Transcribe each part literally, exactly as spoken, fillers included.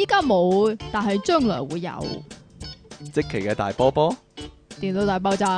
依家冇，但係將來會有。 積淇嘅大波波， 電腦大爆炸。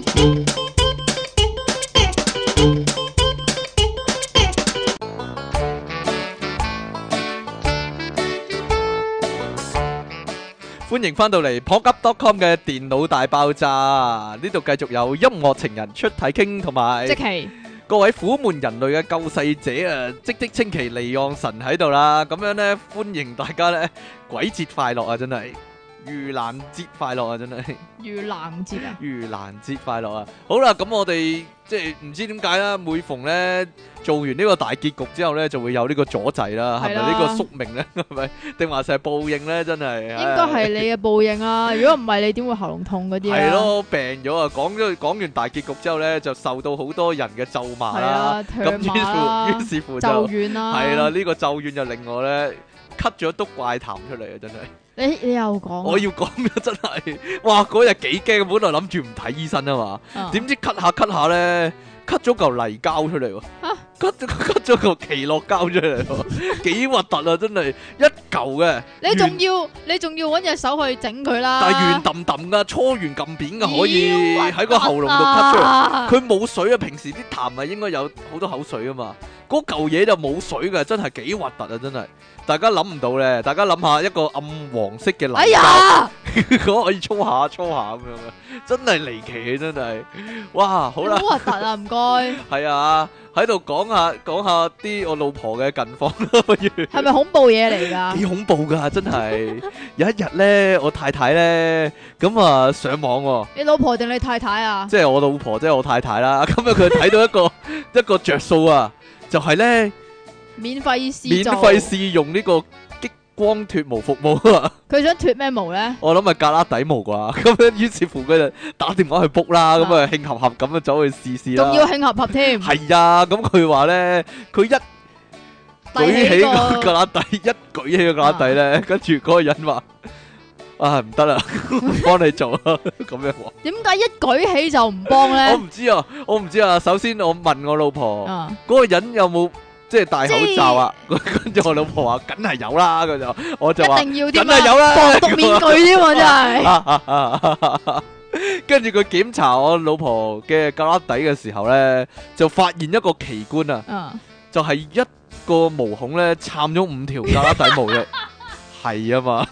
歡迎翻到嚟 p o k u p dot com 嘅電腦大爆炸，呢度繼續有音樂情人出體傾同埋積淇各位苦悶人類嘅救世者啊，即即稱其離岸神喺度啦，咁樣呢，歡迎大家呢，鬼節快樂啊，真係盂蘭節快樂啊，真係盂蘭節啊， 盂蘭節快樂啊！好啦，咁我哋即係唔知點解啦，每逢呢做完呢個大結局之後呢，就會有呢個阻滯啦，係咪呢個宿命呢？係咪定還是係報應呢？真係應該係你嘅報應啊！如果唔係，你點會喉嚨痛嗰啲啊？ 係咯，病咗啊！講咗講完大結局之後呢，就受到好多人嘅咒罵啦，咁於是於是乎就咒怨啦， 係啦，呢個咒怨就令我呢咳咗督怪痰出嚟啊！真係。 你你又講， 我要講啊！真係，哇！嗰日幾驚，本來諗住唔睇醫生啊嘛，點、嗯、知咳下咳下咧，咳咗嚿泥膠出嚟喎，咳咳咗嚿奇樂膠出嚟喎，幾核突啊！真係一嚿嘅， 你仲要你仲要揾隻手去整佢啦， 但係圓揼揼噶，搓圓撳扁噶，可以喺個喉嚨度咳出嚟，佢冇水啊！平時啲痰咪應該有好多口水啊嘛，嗰嚿嘢就冇水嘅，真係幾核突啊！真係。大家諗唔到咧，大家諗下一個暗黃色嘅泥膠，哎呀，可以搓下搓下咁樣嘅，真係離奇，真係，哇，好啦， 好核突啊，唔該， 係啊，喺度講下講下啲我老婆嘅近況啦，不如， 係咪恐怖嘢嚟噶？ 幾恐怖噶，真係，有一日咧，我太太咧，咁啊上網喎， 你老婆定你太太啊？ 即係我老婆，即係我太太啦，咁樣佢睇到一個一個着數啊，就係咧。 免費試免費試用呢個激光脫毛服務啊！ 佢想脫咩毛咧？ 我諗係格拉底毛啩，咁樣於是乎佢就打電話去 book 啦，咁啊興合合咁樣走去試試啦。 仲要興合合添。 係啊，咁佢話咧，佢一舉起個格拉底，一舉起個格拉底咧，跟住嗰個人話：啊唔得啦，唔幫你做啊！咁樣話。 點解一舉起就唔幫咧？ 我唔知啊，我唔知啊。首先我問我老婆，嗰個人有冇？即係戴口罩啊！跟住我老婆話：梗係有啦！佢就我就話： 一定要啲梗係有啦！ 防毒面具添喎，真係。 跟住佢檢查我老婆嘅格拉底嘅時候咧，就發現一個奇觀啊！就係一個毛孔咧，撐咗五條格拉底毛嘅，係啊嘛。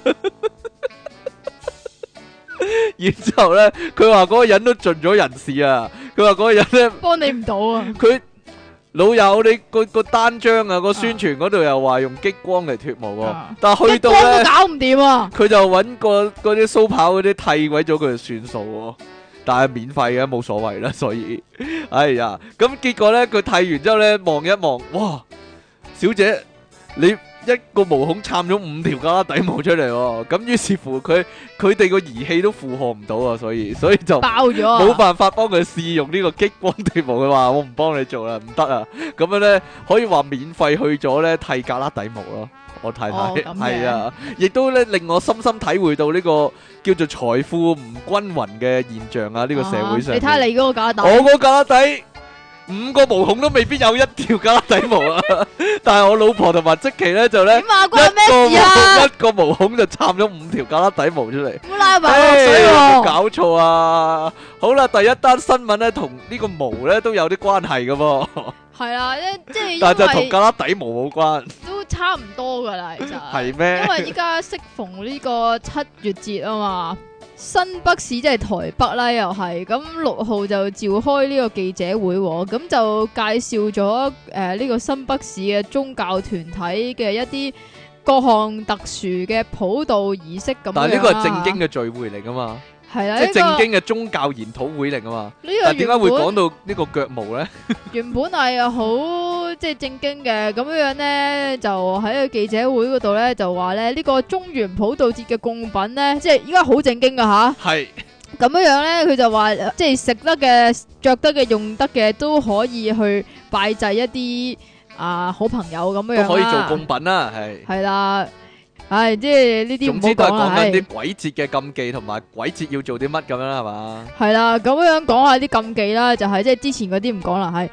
然之後咧，佢話嗰個人都盡咗人事啊！佢話嗰個人咧幫你唔到啊！ 佢。老友，你個個單張啊，個宣傳嗰度又話用激光嚟脫毛喎，啊、但係去到咧，激光都搞唔掂啊！佢就揾個嗰啲蘇跑嗰啲剃鬼咗佢就算數喎，但係免費嘅冇所謂啦，所以，哎呀，咁結果咧佢剃完之後咧望一望，哇，小姐你一個毛孔撐咗五條格拉底毛出嚟喎，咁於是乎佢佢哋個儀器都負荷唔到啊，所以所以就爆咗， 冇辦法幫佢試用呢個激光脫毛。佢話我唔幫你做啦，唔得啊！咁樣咧可以話免費去咗咧剃格拉底毛咯。我太太係、哦、啊，亦都咧令我深深體會到呢個叫做財富唔均勻嘅現象啊！呢、呢個社會上， 你睇下你嗰個格拉底， 我個格拉底。五個毛孔都未必有一條格拉底毛啊！但係我老婆同埋積淇咧就咧， 關咩事啊？ 一個毛孔就撐咗五條格拉底毛出嚟， 冇拉埋落水喎！ 冇搞錯啊！好啦，第一單新聞咧同呢個毛咧都有啲關係噶噃。係啊，即係但係就同格拉底毛冇關， 都差唔多噶啦，其實係咩？ 因為依家適逢呢個七月節啊嘛。新北市即係台北啦，又係咁六號就召開呢個記者會，咁就介紹咗誒呢個新北市嘅宗教團體嘅一啲各項特殊嘅普渡儀式咁樣。 但係呢個係正經嘅聚會嚟噶嘛？ 係啦， 即係正經嘅宗教研討會嚟噶嘛？呢個點解會講到呢個腳毛咧？ 原本係好即係正經嘅，咁樣樣咧就喺個記者會嗰度咧就話咧呢個中元普渡節嘅供品咧，即係依家好正經噶吓。係咁樣樣咧，佢就話即係食得嘅、着得嘅、用得嘅都可以去拜祭一啲啊好朋友咁樣樣啦。都可以做供品啦，係係啦。唉，即係呢啲唔好講啦。總之都係講緊啲鬼節嘅禁忌同埋鬼節要做啲乜咁樣啦，係嘛？ 係啦，咁樣講下啲禁忌啦，就係即係之前嗰啲唔講啦，係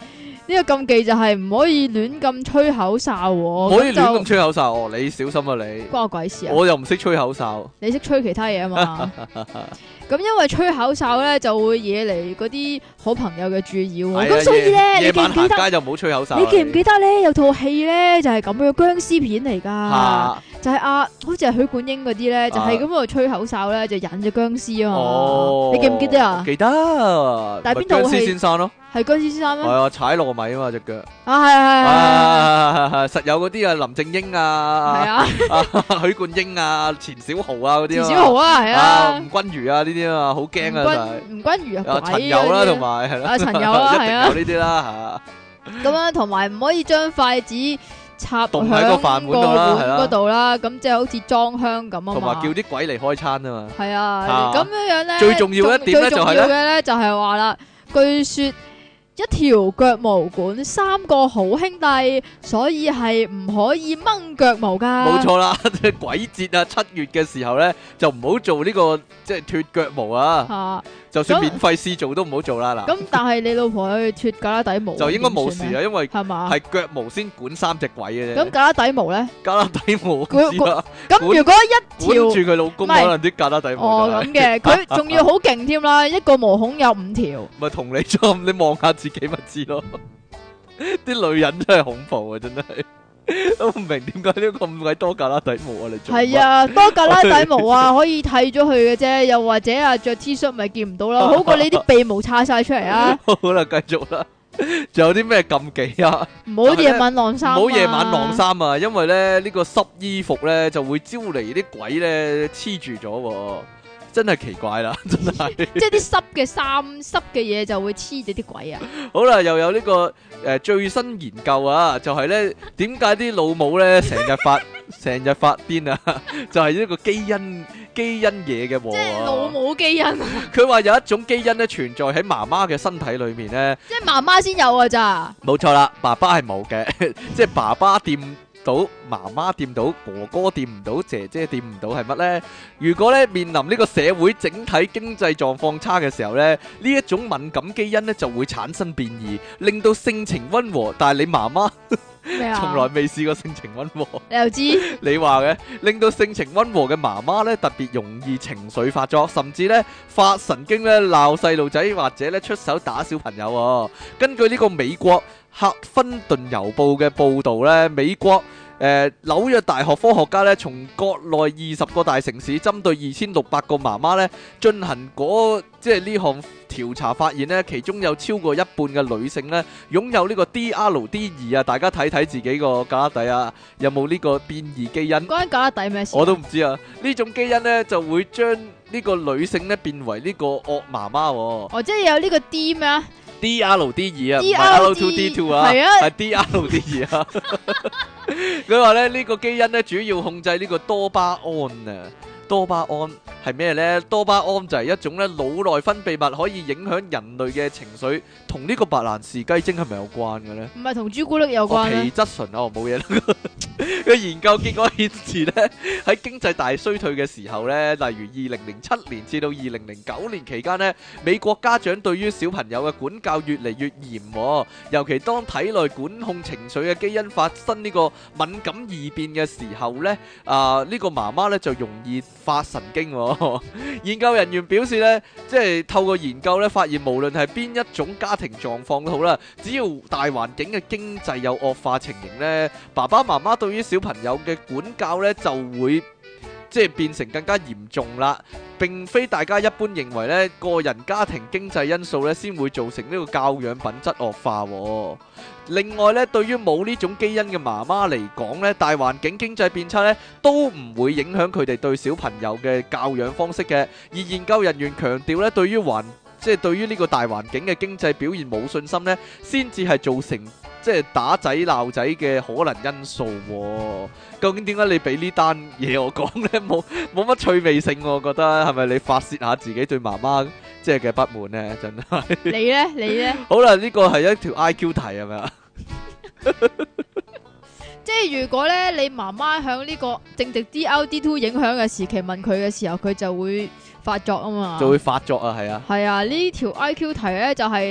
呢個禁忌就係唔可以亂咁吹口哨， 唔可以亂咁吹口哨哦，你小心啊你。 關我鬼事啊！ 我又唔識吹口哨， 你識吹其他嘢啊嘛？咁因為吹口哨咧就會惹嚟嗰啲好朋友嘅注意喎，咁所以咧你記唔記得？夜晚行街就唔好吹口哨。你記唔記得咧？有套戲咧就係咁嘅僵屍片嚟噶，就係啊，好似係許冠英嗰啲咧，就係咁喺度吹口哨咧，就引隻僵屍啊嘛。你記唔記得啊？記得。但係邊套戲？僵屍先生咯。係僵屍先生咩？係啊，踩糯米啊嘛隻腳。啊係係係係係，實有嗰啲啊，林正英啊，係啊，許冠英啊，錢小豪啊嗰啲。錢小豪啊，係啊。吳君如啊呢啲啊，好驚啊真係。吳君如啊，陳友啦同埋係咯。啊陳友啦係啊。有呢啲啦吓。咁樣同埋唔可以將筷子插喺個飯碗嗰度啦，咁即係好似裝香咁啊嘛。同埋叫啲鬼嚟開餐啊嘛。係啊，咁樣樣咧。最重要一點咧就係咧。最重要嘅咧就係話啦，據說。一條腳毛管三個好兄弟，所以係唔可以掹腳毛噶。冇錯啦，鬼節啊，七月嘅時候咧，就唔好做呢個即係脫腳毛啊。啊就算免費試做都唔好做啦嗱。咁但係你老婆去脫胳肋底毛，就應該冇事啊，因為係嘛係腳毛先管三隻鬼嘅啫。咁胳肋底毛咧？胳肋底毛唔知啦。咁如果一條管住佢老公，可能啲胳肋底毛哦咁嘅，佢仲要好勁添啦，一個毛孔有五條。咪同你做，你望下自己咪知咯。啲女人真係恐怖啊，真係。都唔明點解呢咁鬼多胳肋底毛啊！你做係啊，多胳肋底毛啊，可以剃咗佢嘅啫，又或者啊着 T 恤咪見唔到咯，好過你啲鼻毛叉晒出嚟啊！好啦，繼續啦，仲有啲咩禁忌啊？唔好夜晚晾衫，唔好夜晚晾衫啊！因為咧呢個濕衣服咧就會招嚟啲鬼咧黐住咗。真係奇怪啦，真係即係啲濕嘅衫、濕嘅嘢就會黐住啲鬼啊！好啦，又有呢、這個誒、呃、最新研究啊，就係咧點解啲老母咧成日發成日發癲啊？就係呢個基因基因嘢嘅喎，即係老母基因。佢話有一種基因咧存在喺媽媽嘅身體裏面咧，即係媽媽先有啊咋？冇錯啦，爸爸係冇嘅，即係爸爸掂到媽媽掂到，哥哥掂唔到，姐姐掂唔到係乜呢？如果咧面臨呢個社會整體經濟狀況差嘅時候咧，呢一種敏感基因咧就會產生變異，令到性情溫和。但係你媽媽從來未試過性情溫和，你又知？你話嘅，令到性情溫和嘅媽媽咧特別容易情緒發作，甚至咧發神經咧鬧細路仔，或者咧出手打小朋友。根據呢個美國《赫芬頓郵報》嘅報導咧，美國誒紐約大學科學家咧，從國內二十個大城市針對二千六百個媽媽咧進行嗰即係呢項調查，發現咧其中有超過一半嘅女性咧擁有呢個 D R D 二啊！大家睇睇自己個胳肋底啊，有冇呢個變異基因？關胳肋底咩事？我都唔知啊！呢種基因咧就會將呢個女性咧變為呢個惡媽媽。哦，即係有呢個 D 咩啊？D R D 二啊，唔係 R two D two 啊，係 D R D 二啊。佢話咧呢個基因咧主要控制呢個多巴胺啊。多巴胺係咩呢？多巴胺就係一種咧腦內分泌物，可以影響人類嘅情緒，同呢個白蘭氏雞精係咪有關嘅呢？唔係同朱古力有關。皮質醇啊，冇嘢啦。個研究結果顯示咧，喺經濟大衰退嘅時候咧，例如二零零七年至到二零零九年期間咧，美國家長對於小朋友嘅管教越嚟越嚴，尤其當體內管控情緒嘅基因發生呢個敏感異變嘅時候咧，啊呢個媽媽咧就容易發神經。研究人員表示咧，即係透過研究咧，發現無論係邊一種家庭狀況都好啦，只要大環境嘅經濟有惡化情形咧，爸爸媽媽對於小朋友嘅管教咧就會即係變成更加嚴重啦，並非大家一般認為咧個人家庭經濟因素咧先會造成呢個教養品質惡化。另外咧，對於冇呢種基因嘅媽媽嚟講咧，大環境經濟變差咧都唔會影響佢哋對小朋友嘅教養方式嘅。而研究人員強調咧，對於環即係對於呢個大環境嘅經濟表現冇信心咧，先至係造成即係打仔鬧仔嘅可能因素。究竟點解你俾呢單嘢我講咧？冇冇乜趣味性，我覺得係咪你發泄下自己對媽媽即係嘅不滿咧？真係你咧，你咧？好啦，呢個係一條 I Q 題係咪啊？即係如果咧你媽媽響呢個正值 D R D two 影響嘅時期問佢嘅時候，佢就會發作啊嘛，就會發作啊，係啊，係啊，呢條 I Q 題咧就係、是。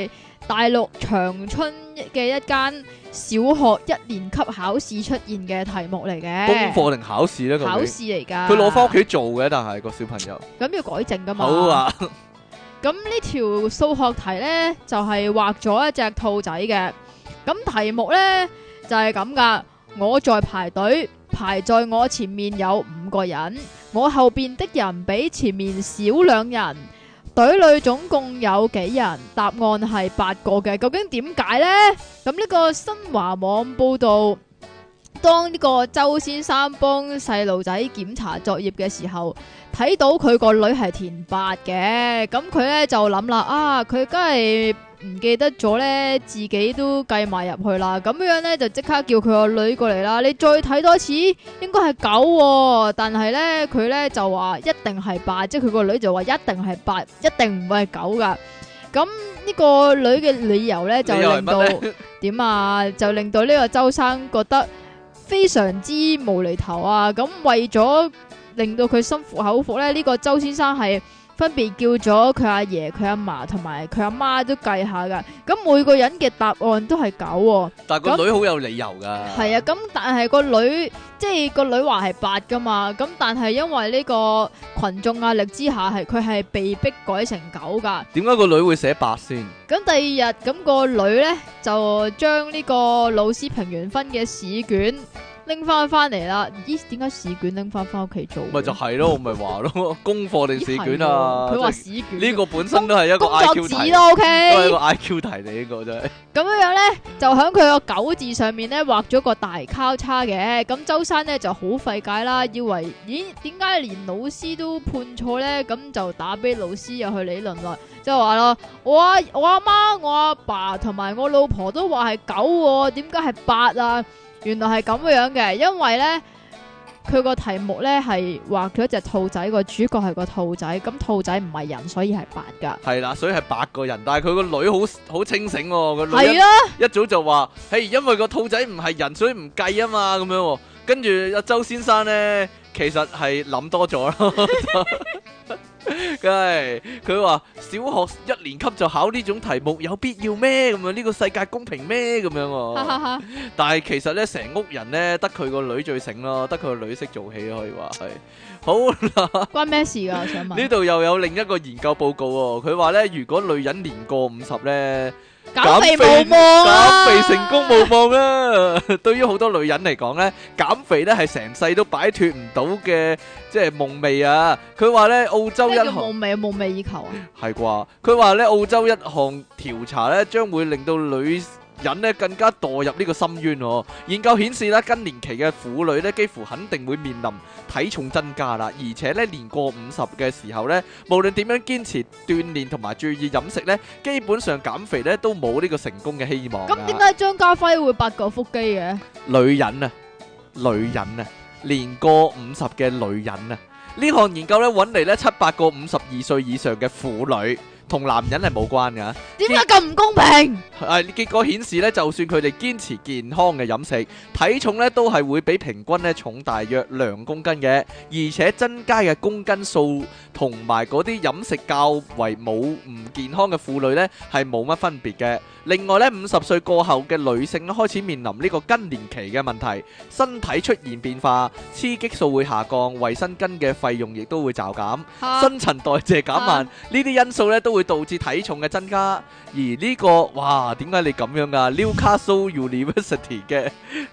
大陸長春嘅一間小學一年級考試出現嘅題目嚟嘅。 功課定考試咧？ 考試嚟㗎。 佢攞翻屋企做嘅，但係個小朋友。 咁要改正㗎嘛？ 好啊。 咁呢條數學題咧就係畫咗一隻兔仔嘅。咁題目咧就係咁噶。我在排隊，排在我前面有五個人，我後邊的人比前面少兩人。隊裏總共有幾人？答案係八個嘅。究竟點解呢？咁呢個新華網報道，當呢個周先生幫細路仔檢查作業嘅時候，睇到佢個女係填八嘅，咁佢呢就諗啦，啊，佢梗係唔記得咗呢，自己都計埋入去啦。咁樣呢，就即刻叫佢個女過嚟啦。你再睇多次，應該係九喎，但係呢，佢呢就話一定係八，即係佢個女就話一定係八，一定唔會係九噶。咁呢個女嘅理由呢，就令到點啊？就令到呢個周生覺得非常之無厘頭啊！咁為咗令到佢心服口服咧，呢、這個周先生係分別叫咗佢阿爺、佢阿嫲同埋佢阿媽都計下噶。咁每個人嘅答案都係九喎。 但係個女好有理由噶。係啊，咁但係個女即係個女話係八噶嘛。咁但係因為呢個群眾壓力之下，係佢係被逼改成九噶。 點解個女會寫八先？ 咁第二日咁、個女咧就將呢個老師評完分嘅試卷拎翻翻嚟啦。咦？點解試卷拎翻翻屋企做？ 咪就係咯，我咪話咯，功課定試卷啊？ 佢話試卷。呢個本身都係一個 I Q 題， 工作紙咯 ，OK， 都係一個 I Q 題嚟，呢個真係。 咁樣樣咧，就喺佢個九字上面咧畫咗個大交叉嘅。咁周生咧就好費解啦，以為咦點解連老師都判錯咧？咁就打俾老師又去理論啦，即係話咯，我阿我阿媽、我阿爸同埋我老婆都話係九喎，點解係八啊？原來係咁樣嘅，因為咧佢個題目咧係畫咗隻兔仔，個主角係個兔仔，咁兔仔唔係人，所以係八噶。係啦，所以係八個人，但係佢個女好好清醒喎，個女係啊， 一早就話，嘿，因為個兔仔唔係人，所以唔計啊嘛，咁樣。跟住阿周先生咧，其實係諗多咗咯。梗係佢話小學一年級就考呢種題目有必要咩？咁樣呢個世界公平咩？咁樣，但係其實咧成屋人咧得佢個女最醒咯，得佢個女識做戲可以話係。好啦， 關咩事噶？我想問。 呢度又有另一個研究報告喎，佢話咧如果女人年過五十咧。 減肥無望啊！ 減肥成功無望啊！對於好多女人嚟講咧，減肥咧係成世都擺脫唔到嘅，即係夢寐啊！佢話咧澳洲一項夢寐夢寐以求啊， 係啩？佢話咧澳洲一項調查咧，將會令到女人咧更加墮入呢個深淵哦。研究顯示咧，更年期嘅婦女咧，幾乎肯定會面臨體重增加啦，而且咧年過五十嘅時候咧，無論點樣堅持鍛煉同埋注意飲食咧，基本上減肥咧都冇呢個成功嘅希望。 咁點解張家輝會八嚿腹肌嘅？ 女人啊，女人啊，年過五十嘅女人啊，呢項研究咧揾嚟咧七百個五十二歲以上嘅婦女。同男人係冇關噶， 點解咁唔公平？ 誒，結果顯示咧，就算佢哋堅持健康嘅飲食，體重咧都係會比平均咧重大約兩公斤嘅，而且增加嘅公斤數同埋嗰啲飲食較為冇唔健康嘅婦女咧係冇乜分別嘅。另外咧，五十歲過後嘅女性咧開始面臨呢個更年期嘅問題，身體出現變化，雌激素會下降，衛生巾嘅費用亦都會驟減，新陳代謝減慢，呢啲因素咧都會導致體重嘅增加。而呢個哇，點解你咁樣啊？Newcastle University 嘅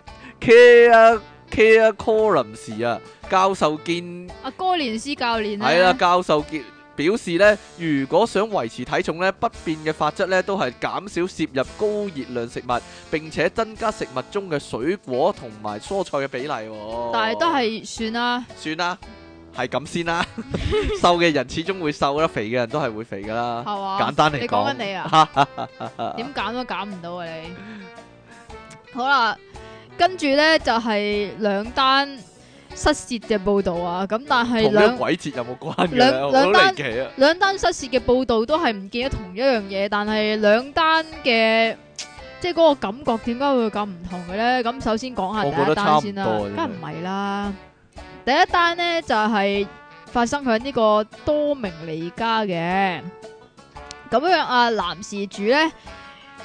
Care Care Collins 啊，教授見阿哥連斯教練係啦，教授見。表示咧，如果想維持體重咧，不變嘅法則咧，都係減少攝入高熱量食物，並且增加食物中嘅水果同埋蔬菜嘅比例。 但係都係算啦， 算啦，係咁先啦。瘦嘅人始終會瘦啦，肥嘅人都係會肥噶啦。 係嘛？ 簡單嚟講， 你講緊你啊？點減都減唔到啊！你好啦，跟住咧就係兩單失竊嘅報道啊，咁但係兩鬼節有冇關嘅？ 兩兩單啊、 兩單失竊嘅報道都係唔見咗同一樣嘢，但係兩單嘅即係嗰個感覺點解會咁唔同嘅咧？咁首先講下第一單先啦，梗係唔係啦。第一單咧就係、是、發生喺呢個多明尼加嘅，咁樣啊男事主咧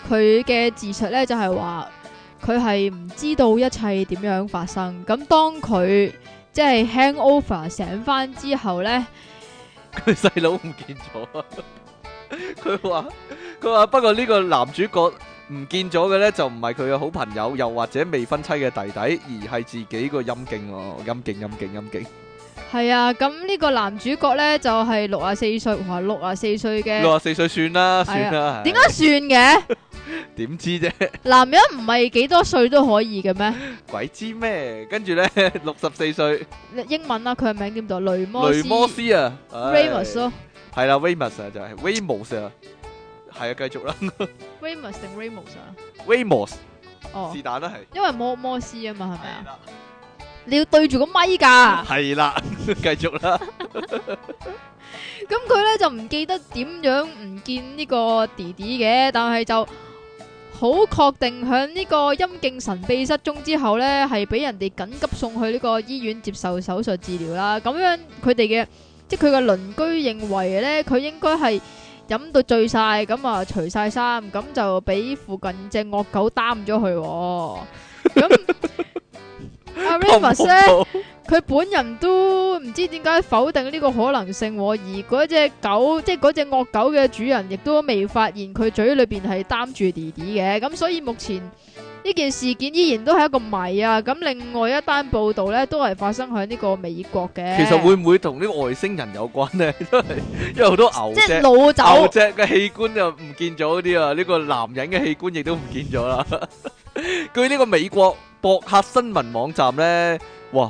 佢嘅自述咧就係話佢係唔知道一切點樣發生。咁當佢即係 hangover 醒翻之後咧， 佢細佬唔見咗。佢話佢話不過呢個男主角唔見咗嘅咧就唔係佢嘅好朋友，又或者未婚妻嘅弟弟，而係自己個陰莖喎，陰莖陰莖陰莖。 係啊，咁呢個男主角咧就係六十四歲，哇，六十四歲嘅， 六十四歲算啦，算啦。 點解算嘅？ 點知啫？ 男人唔係幾多歲都可以嘅咩？ 鬼知咩？跟住咧，六十四歲， 英文啊，佢嘅名點讀？雷摩斯。 雷摩斯啊 Ramos 咯。 係啦 ，Ramos 啊，就係 Ramos 啊。係啊，繼續啦。 Ramos 定 Ramos 啊 ？Ramos。 哦。 是但啦，係。 因為摩摩斯啊嘛，係咪啊？你要對住個咪噶。 係啦，繼續啦。 咁佢咧就唔記得點樣唔見呢個弟弟嘅，但係就好確定響呢個陰莖神秘失蹤之後咧，係俾人哋緊急送去呢個醫院接受手術治療啦。咁樣佢哋嘅即係佢嘅鄰居認為咧，佢應該係飲到醉晒，咁啊除晒衫，咁就俾附近隻惡狗擔咗去。咁阿 Ramos 咧，佢本人都唔知點解否定呢個可能性，而嗰隻狗，即係嗰隻惡狗嘅主人，亦都未發現佢嘴裏邊係擔住弟弟嘅。咁所以目前呢件事件依然都係一個謎啊！咁另外一單報道咧，都係發生喺呢個美國嘅。 其實會唔會同呢個外星人有關呢？因為因為好多牛隻、 即係老走牛隻嘅器官又唔見咗啲啊，呢個男人嘅器官亦都唔見咗啦。據呢個美國博客新聞網站咧，哇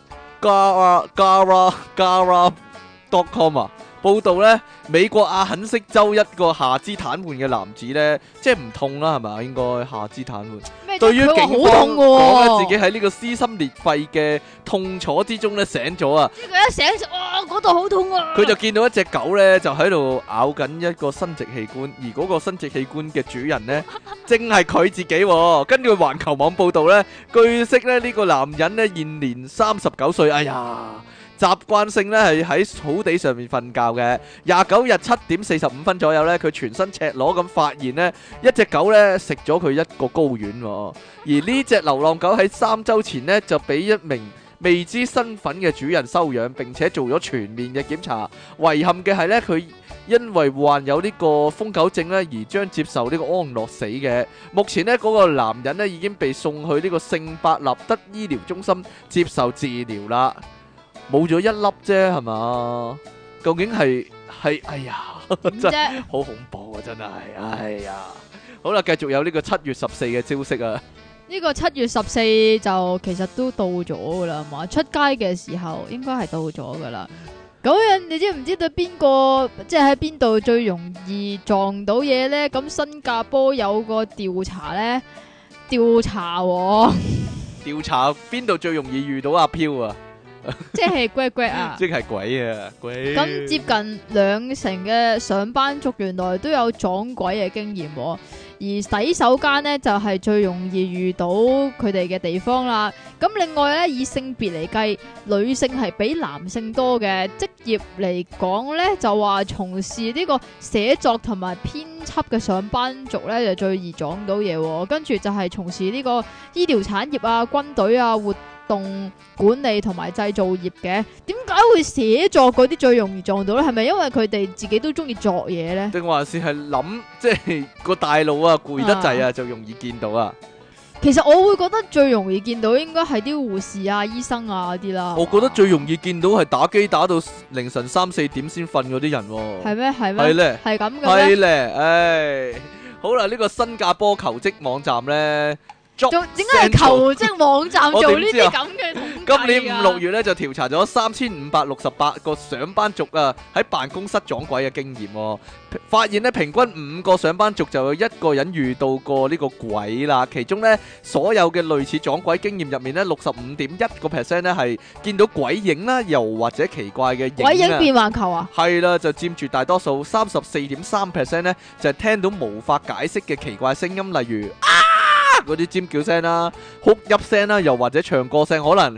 Gara Gara Gara dot com 啊，報道咧，美國阿肯色州一個下肢癱瘓嘅男子咧，即係唔痛啦，係咪？應該下肢癱瘓。對於警方講咧，自己喺呢個撕心裂肺嘅痛楚之中咧醒咗啊！ 呢個一醒就哇，嗰度好痛啊！ 佢就見到一隻狗咧，就喺度咬緊一個生殖器官，而嗰個生殖器官嘅主人咧，正係佢自己。根據環球網報道咧，據悉咧呢個男人咧現年三十九歲，哎呀！習慣性咧係喺草地上面瞓覺嘅。廿九日七點四十五分左右咧，佢全身赤裸咁發現呢一隻狗咧食咗佢一個睾丸，而呢隻流浪狗喺三週前呢就俾一名未知身份嘅主人收養，並且做咗全面嘅檢查。遺憾嘅係呢，佢因為患有呢個瘋狗症咧，而將接受呢個安樂死嘅。目前呢，嗰個男人咧已經被送去呢個聖伯納德醫療中心接受治療啦。冇咗一粒啫，係嘛？究竟係係哎呀，真係好恐怖啊！真係，哎呀，好啦，繼續有呢個七月十四嘅消息啊！ 呢個七月十四就其實都到咗噶啦，嘛出街嘅時候應該係到咗噶啦。咁樣你知唔知道邊個即係喺邊度最容易撞到嘢呢？咁新加坡有個調查呢，調查調查邊度最容易遇到阿飄啊？ 即係鬼鬼啊！ 即係鬼啊！鬼咁接近兩成嘅上班族原來都有撞鬼嘅經驗，而洗手間呢，就係最容易遇到佢哋嘅地方啦。咁另外咧，以性別嚟計，女性係比男性多嘅。職業嚟講咧，就話從事呢個寫作同埋編輯嘅上班族咧，就最易撞到嘢。跟住就係從事呢個醫療產業啊、軍隊啊、活動管理同埋製造業嘅。點解會寫作嗰啲最容易撞到咧？係咪因為佢哋自己都中意作嘢咧？定還是係諗即係個大腦啊攰得滯啊，啊就容易見到啊？ 其實我會覺得最容易見到應該係啲護士啊、醫生啊嗰啲啦。 我覺得最容易見到係打機打到凌晨三四點先瞓嗰啲人。 係咩？係咩？ 係咧， 係咁嘅咩？ 係咧，唉，好啦，呢個新加坡求職網站咧。 做點解係求職網站做呢啲咁嘅統計啊？ 今年五六月咧就調查咗三千五百六十八個上班族啊喺辦公室撞鬼嘅經驗，發現咧平均五個上班族就有一個人遇到過呢個鬼啦。其中咧所有嘅類似撞鬼經驗入面咧，六十五點一個 percent 咧係見到鬼影啦，又或者奇怪嘅影啊。 鬼影變環球啊？係啦，就佔住大多數，三十四點三 percent 咧就係聽到無法解釋嘅奇怪聲音，例如啊嗰啲尖叫聲啦、哭泣聲啦，又或者唱歌聲，可能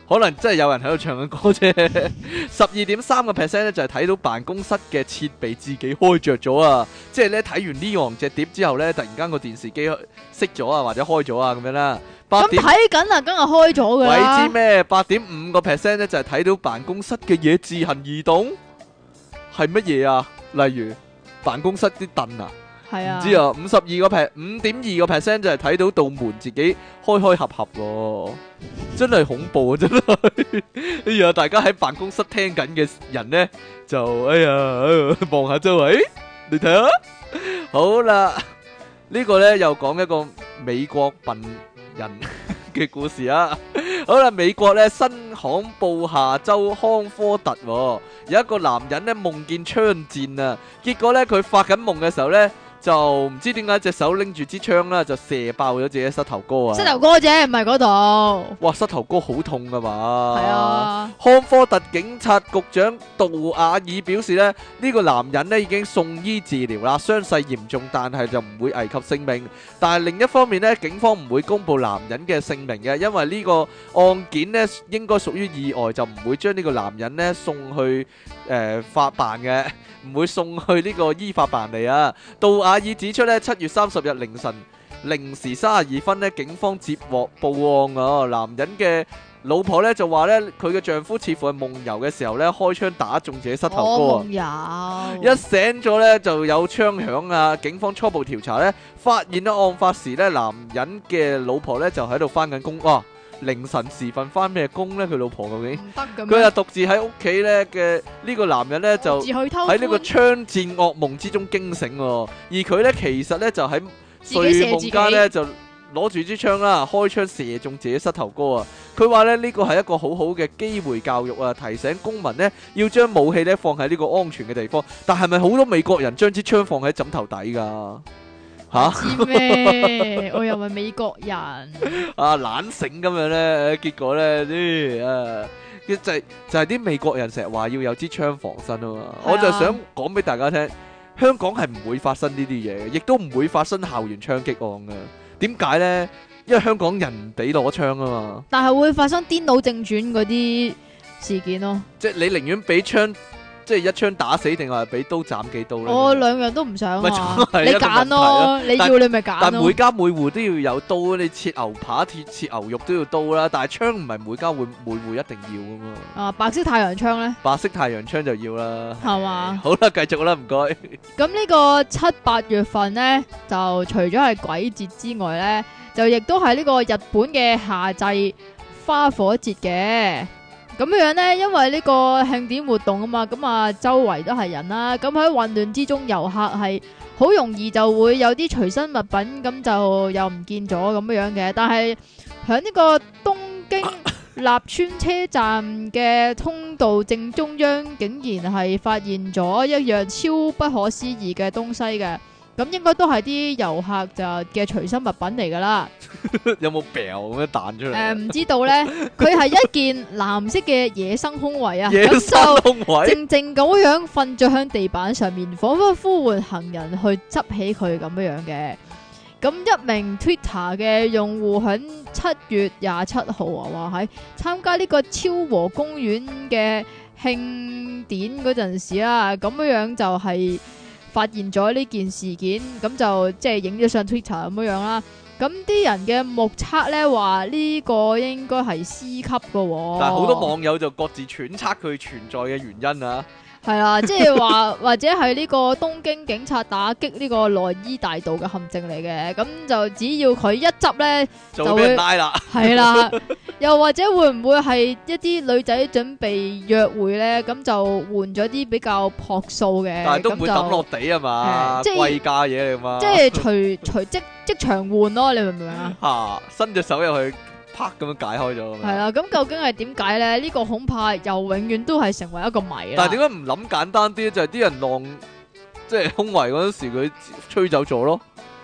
可能真係有人喺度唱緊歌啫。十二點三個 percent 咧就係睇到辦公室嘅設備自己開着咗啊！即係咧睇完呢樣隻碟之後咧，突然間個電視機熄咗啊，或者開咗啊咁樣啦。 咁睇緊啊，梗係開咗噶啦。 鬼知咩？八點五個 percent 咧就係睇到辦公室嘅嘢自行移動，係乜嘢啊？例如辦公室啲凳啊。 係啊， 唔知啊，五十二個 percent，五點二個 percent 就係睇到道門自己開開合合喎，真係恐怖啊！真係，哎呀，大家喺辦公室聽緊嘅人咧，就哎呀望下周圍，你睇下，好啦，呢個咧又講一個美國笨人嘅故事啊！好啦，美國咧新罕布夏州康科特有一個男人咧夢見槍戰啊，結果咧佢發緊夢嘅時候咧。就唔知點解隻手拎住支槍啦，就射爆咗自己膝頭哥啊！ 膝頭哥啫，唔係嗰度。 哇，膝頭哥好痛噶嘛！ 係啊。 康科特警察局長杜瓦爾表示咧，呢、呢個男人咧已經送醫治療啦，傷勢嚴重，但係就唔會危及性命。但係另一方面咧，警方唔會公布男人嘅姓名嘅，因為呢個案件咧應該屬於意外，就唔會將呢個男人咧送去誒、呃、法辦嘅。唔會送去呢個依法辦理啊！杜瓦爾指出咧，七月三十日凌晨零時三十二分咧，警方接獲報案啊！男人嘅老婆咧就話咧，佢嘅丈夫似乎係夢遊嘅時候咧，開槍打中自己膝頭哥啊！ 夢遊一醒咗咧就有槍響啊！警方初步調查咧，發現咧案發時咧，男人嘅老婆咧就喺度翻緊工啊！凌晨時分翻咩工咧？佢老婆究竟唔得嘅咩？佢又獨自喺屋企咧嘅呢個男人咧就喺呢個槍戰噩夢之中驚醒，而佢咧其實咧就喺睡夢間咧就攞住支槍啦，開槍射中自己膝頭哥啊！佢話咧呢個係一個好好嘅機會教育啊，提醒公民咧要將武器咧放喺呢個安全嘅地方。但係咪好多美國人將支槍放喺枕頭底噶？吓？知咩？ 我又唔係美國人啊，懶醒咁樣咧，結果咧啲啊，就係就係啲美國人成日話要有支槍防身啊嘛，我就想講俾大家聽，香港係唔會發生呢啲嘢嘅，亦都唔會發生校園槍擊案噶。點解咧？因為香港人唔俾攞槍啊嘛。但係會發生顛倒正傳嗰啲事件咯。即係你寧願俾槍。即係一槍打死定係俾刀斬幾刀咧？我兩樣都唔想啊！你揀咯，你要你咪揀咯。但每家每戶都要有刀，你切牛扒、切切牛肉都要刀啦。但係槍唔係每家每每戶一定要噶嘛。啊，白色太陽槍咧？白色太陽槍就要啦。係嘛？好啦，繼續啦，唔該。咁呢個七八月份咧，就除咗係鬼節之外咧，就亦都係呢個日本嘅夏祭花火節嘅。咁樣呢，因為呢個慶典活動啊嘛，咁啊周圍都係人啦，咁喺混亂之中，遊客係好容易就會有啲隨身物品咁就又唔見咗咁樣嘅。但係喺呢個東京立川車站嘅通道正中央，竟然係發現咗一樣超不可思議嘅東西嘅。咁應該都係啲遊客就嘅隨身物品嚟噶啦。有冇掉咁樣彈出嚟？誒、呃，唔知道咧。佢係一件藍色嘅野生胸圍啊，野生胸圍就靜靜咁樣瞓咗喺地板上面，仿佛呼喚行人去執起佢咁樣樣嘅。咁一名 Twitter 嘅用戶喺七月廿七號啊，話喺參加呢個昭和公園嘅慶典嗰陣時啦，咁樣樣就係、是。發現咗呢件事件，咁就即係影咗上 Twitter 咁樣樣啦。咁啲人嘅目測咧話呢個應該係 C 級嘅，但係好多網友就各自揣測佢存在嘅原因啊。係啦，即係話或者係呢個東京警察打擊呢個內衣大道嘅陷阱嚟嘅，咁就只要佢一執咧就會俾人拉啦。係啦，又或者會唔會係一啲女仔準備約會咧，咁就換咗啲比較樸素嘅，但係都唔會抌落地啊嘛，即係貴價嘢嚟嘛，即係隨隨即即場換咯，你明唔明啊？吓，伸隻手入去。啪咁樣解開咗，係啦。咁究竟係點解咧？呢、這個恐怕又永遠都係成為一個謎啦。但係點解唔諗簡單啲？就係、是、啲人浪即係胸圍嗰陣時，佢吹走咗咯。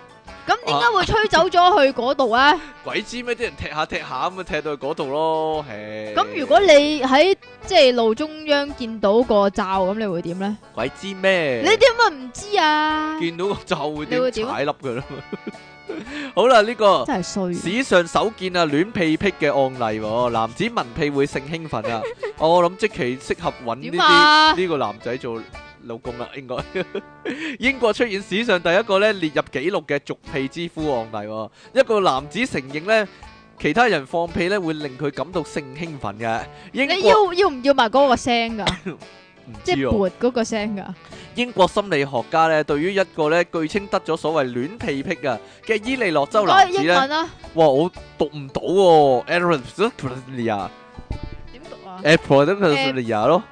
咁點解會吹走咗去嗰度咧？ 鬼知咩？啲人踢下踢下咁啊，踢到去嗰度咯。 咁如果你喺即係路中央見到個罩，咁你會點咧？ 鬼知咩？ 你點解唔知啊？ 見到個罩會點踩粒噶啦？好啦，呢、這個真係衰， 史上首見啊戀屁癖嘅案例、哦，男子聞屁會性興奮啊！我諗即期適合揾呢啲呢個男仔做老公啦，應該。英國出現史上第一個咧列入紀錄嘅逐屁之夫案例、哦，一個男子承認咧其他人放屁咧會令佢感到性興奮嘅。英國你要要唔要埋嗰個聲噶？ 唔即係撥嗰個聲噶。 英國心理學家咧，對於一個咧據稱得咗所謂戀屁癖啊嘅伊利諾州男子咧，哇，我讀唔到喎 ，Aerophobia 點讀啊 ？Aerophobia 咯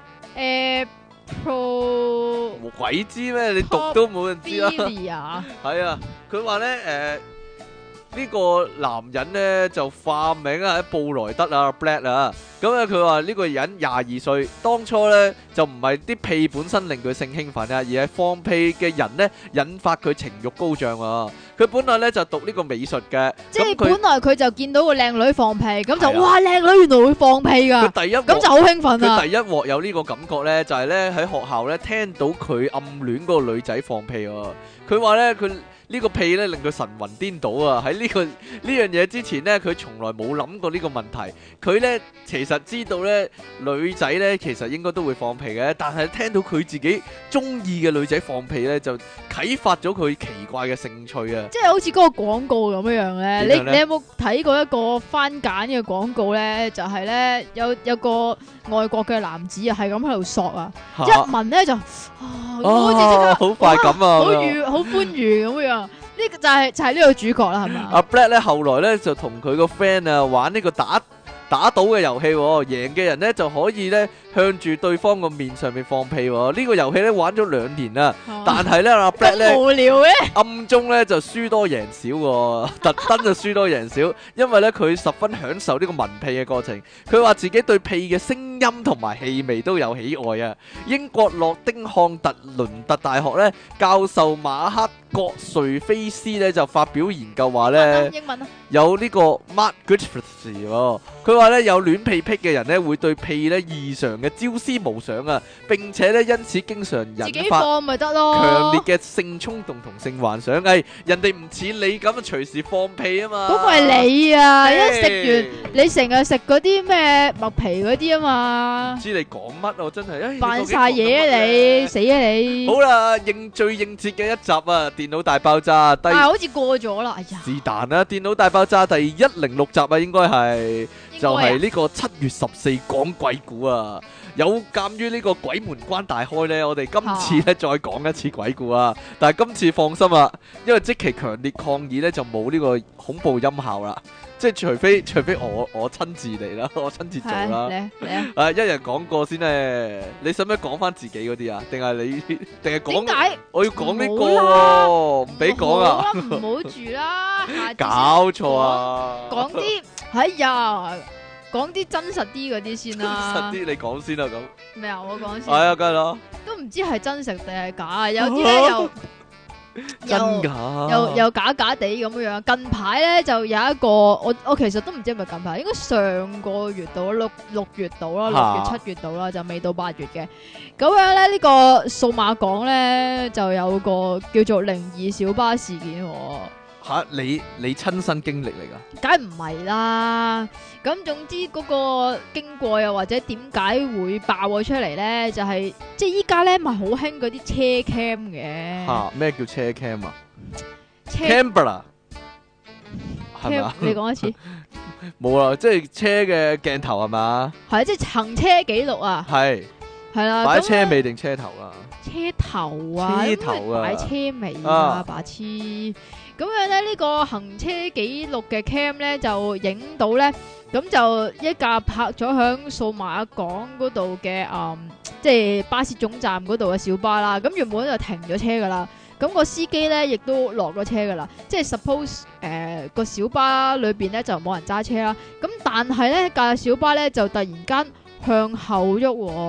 ，Aero 鬼知咩？你讀都冇人知啦。係啊，佢話咧，誒。呢個男人呢，就化名啊，喺布萊德啊 Black 啊，咁咧佢話呢個人廿二歲，當初呢，就唔係啲屁本身令佢性興奮啊，而係放屁嘅人呢，引發佢情慾高漲啊。佢本來呢，就讀呢個美術嘅， 即係本來佢就見到個靚女放屁，咁就哇靚女原來會放屁㗎， 佢第一咁就好興奮啊！ 佢第一鑊有呢個感覺呢，就係呢喺學校呢聽到佢暗戀嗰個女仔放屁喎，佢話呢佢。呢個屁咧令佢神魂顛倒啊！喺呢、這個呢樣嘢之前呢，佢從來冇諗過呢個問題。佢呢，其實知道呢女仔呢，其實應該都會放屁嘅，但係聽到佢自己中意嘅女仔放屁呢，就啟發咗佢奇怪嘅興趣啊！ 即係好似嗰個廣告咁樣樣咧，你你有冇睇過一個番梘嘅廣告呢？就係、是、呢，有有個外國嘅男子啊，係咁喺度索啊，一聞呢就啊，好似即刻好快感啊， 好愉好歡愉咁樣。呢個就係就係呢個主角啦，係嘛？ 阿 Black 咧後來咧就同佢個 friend 啊玩呢個打打賭嘅遊戲，贏嘅人咧就可以咧向住對方個面上面放屁。呢個遊戲咧玩咗兩年啦，但係咧阿 Black 咧無聊嘅暗中咧就輸多贏少，特登就輸多贏少，因為咧佢十分享受呢個聞屁嘅過程。佢話自己對屁嘅聲音同埋氣味都有喜愛啊！英國諾丁漢特倫特大學咧教授馬克葛瑞菲斯咧就發表研究話咧， 英文啊， 有呢個 Mark Griffiths 喎，佢話咧有戀屁癖嘅人咧會對屁咧異常嘅朝思暮想啊，並且咧因此經常引發放咪得咯強烈嘅性衝動同性幻想。誒，人哋唔似你咁啊，隨時放屁啊嘛。 嗰個係你啊！一食完你成日食嗰啲咩麥皮嗰啲啊嘛。 唔知你講乜我真係， 扮晒嘢啊你，死啊你！ 好啦，應最應節嘅一集啊，電腦大爆炸，但係好似過咗啦，哎呀！ 是但啦，電腦大爆炸第一零六集啊，應該係就係呢個七月十四講鬼故啊。有鑑於呢個鬼門關大開呢，我哋今次咧再講一次鬼故啊。但係今次放心啊，因為即其強烈抗議呢，就冇呢個恐怖音效啦。即係除非除非我我親自嚟啦，我親自做啦。嚟啊！誒，一人講過先咧。你使唔使講翻自己嗰啲啊？定係你定係講？點解我要講呢個喎？唔俾講啊！ 唔好住啦， 搞錯啊！ 講啲哎呀，講啲真實啲嗰啲先啦。 真實啲，你講先啦咁。 咩啊？我講先。 係啊，梗係啦。 都唔知係真實定係假啊！有啲咧又。 真假又又假假地咁樣樣，近排咧就有一個，我我其實都唔知係咪近排，應該上個月到六六月到啦，六月七月到啦，就未到八月嘅。咁樣咧，呢個數碼港咧就有個叫做靈異小巴事件。 吓，你你親身經歷嚟噶？ 梗係唔係啦。咁總之嗰個經過又或者點解會爆咗出嚟咧？就係、是、即係依家咧咪好興嗰啲車 cam 嘅。吓， 咩叫車 cam 啊車 ？Camera 係咪啊？ 你講一次。 冇啦，即係車嘅鏡頭係嘛？ 係即係行車記錄啊。係係啦。 擺車尾定車頭啊？ 車頭啊， 車頭啊， 擺車尾啊，白痴。咁樣咧，呢、這個行車記錄嘅 cam 咧就影到咧，咁就一架泊咗響數碼港嗰度嘅，嗯，即係巴士總站嗰度嘅小巴啦。咁原本就停咗車噶啦，咁、那個司機咧亦都落咗車噶啦。即係 suppose 誒、呃、個小巴裏邊咧就冇人揸車啦。咁但係咧架小巴咧就突然間向後喐、哦。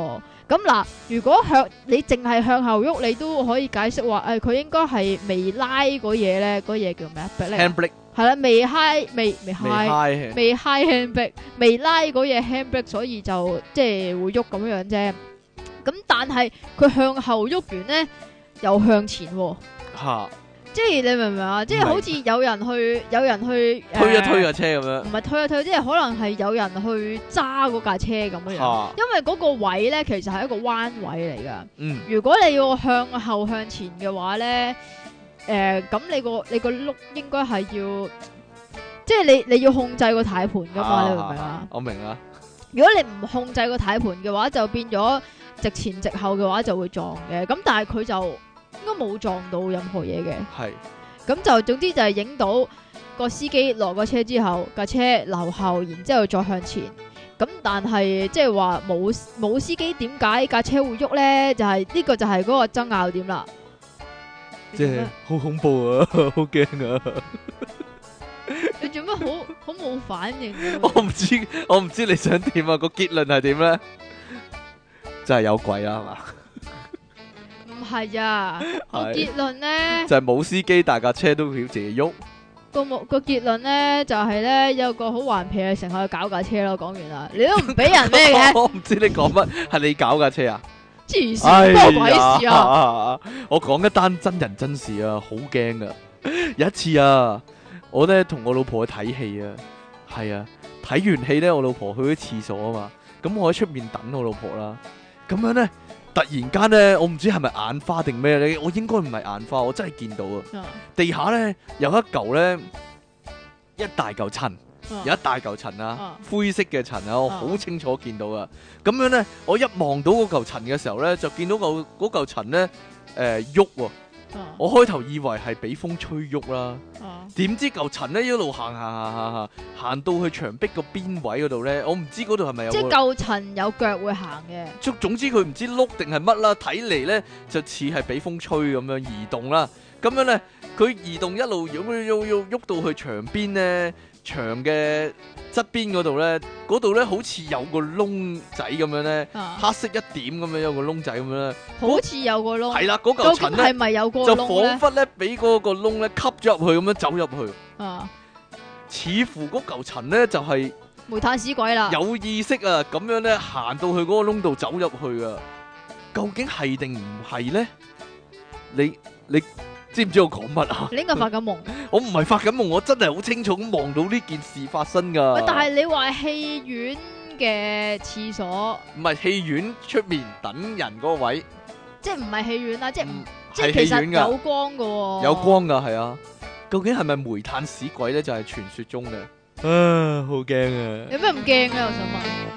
咁嗱，如果向你淨係向後喐，你都可以解釋話誒，佢、哎、應該係未拉嗰嘢咧，嗰嘢叫咩啊 ？handbrake 係啦，未 high 未未 high 未 high handbrake 未拉嗰嘢 handbrake，所以就即係會喐咁樣樣啫。咁但係佢向後喐完咧，又向前喎、哦。 嚇！ 即係你明唔明啊？即係好似有人去，有人去推一推架車咁樣。 唔係推一推，即係可能係有人去揸嗰架車咁樣。啊、因為嗰個位咧，其實係一個彎位嚟噶。嗯。如果你要向後向前嘅話咧，誒、呃，咁你個你個轆應該係要，即係你你要控制個軚盤噶嘛？啊、你明唔明啊？ 我明啊。 如果你唔控制個軚盤嘅話，就變咗直前直後嘅話就會撞嘅。咁但係佢就。應該冇撞到任何嘢嘅，係咁是就總之就係影到個司機落個車之後，架車留後，然之後再向前。咁但係即係話冇冇司機點解架車會喐咧？就係、是、呢、這個就係嗰個爭拗點啦。 即係好恐怖啊，好驚啊！ 你做咩好好冇反應？ 我唔知，我唔知你想點啊？個結論係點咧？真係有鬼啦，係嘛？ 唔係啊，個結論咧就係冇司機，大架車都要自己喐。 個冇個結論咧就係咧有個好頑皮嘅乘客去搞架車咯。講完啦，你都唔俾人咩嘅？ 我唔知你講乜，係你搞架車啊？ 黐線，關我鬼事啊！ 我講一單真人真事啊，好驚噶。有一次啊，我咧同我老婆去睇戲啊，係啊，睇完戲咧，我老婆去咗廁所啊嘛，咁我喺出面等我老婆啦，咁樣咧。突然間咧，我唔知係咪眼花定咩咧，我應該唔係眼花，我真係見到啊！地下咧有一嚿咧一大嚿塵，啊、有一大嚿塵啊，啊灰色嘅塵啊，我好清楚見到啊！咁樣咧，我一望到嗰嚿塵嘅時候咧，就見到嚿嗰嚿塵咧誒喐喎。啊、我開頭以為係俾風吹喐啦，點、啊、知嚿塵咧一路行行行行行行到去牆壁個邊位嗰度咧，我唔知嗰度係咪有即係嚿塵有腳會行嘅。 總總之佢唔知碌定係乜啦，睇嚟咧就似係俾風吹咁樣移動啦。咁樣咧佢移動一路喐喐喐喐到去牆邊咧。牆嘅側邊嗰度咧，嗰度咧好似有個窿仔咁樣咧，啊、黑色一點咁樣有個窿仔咁樣咧， 好似有個窿。 係啦，嗰嚿塵咧係咪有個窿咧？ 就彷彿咧俾嗰個窿咧吸咗入去咁樣走入去。啊，似乎嗰嚿塵咧就係、是、 煤炭屎鬼啦， 有意識啊咁樣咧行到去嗰個窿度走入去啊，究竟係定唔係咧？你你？知唔知我講乜啊？ 你應該發緊夢。 我唔係發緊夢，我真係好清楚咁望到呢件事發生噶。 喂，但係你話戲院嘅廁所， 唔係戲院出面等人嗰個位， 即係唔係戲院啦，即係、嗯、即係其實有光噶、哦， 有光噶係啊。究竟係咪煤炭屎鬼咧？就係、是、傳說中嘅。啊，好驚啊！ 有咩唔驚咧？我想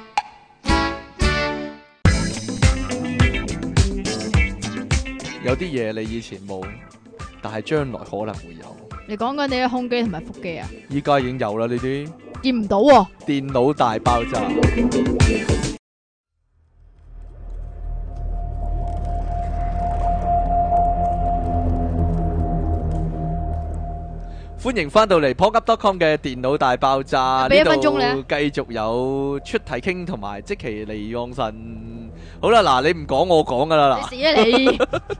問。有啲嘢你以前冇。但係將來可能會有。 你講緊你嘅胸肌同埋腹肌啊？ 依家已經有啦，呢啲見唔到喎。 電腦大爆炸。歡迎翻到嚟 p o k e up dot com 嘅電腦大爆炸。 俾一分鐘咧， 繼續有出體傾同埋積淇離岸神。好啦，嗱，你唔講我講噶啦，嗱。 你死啊你！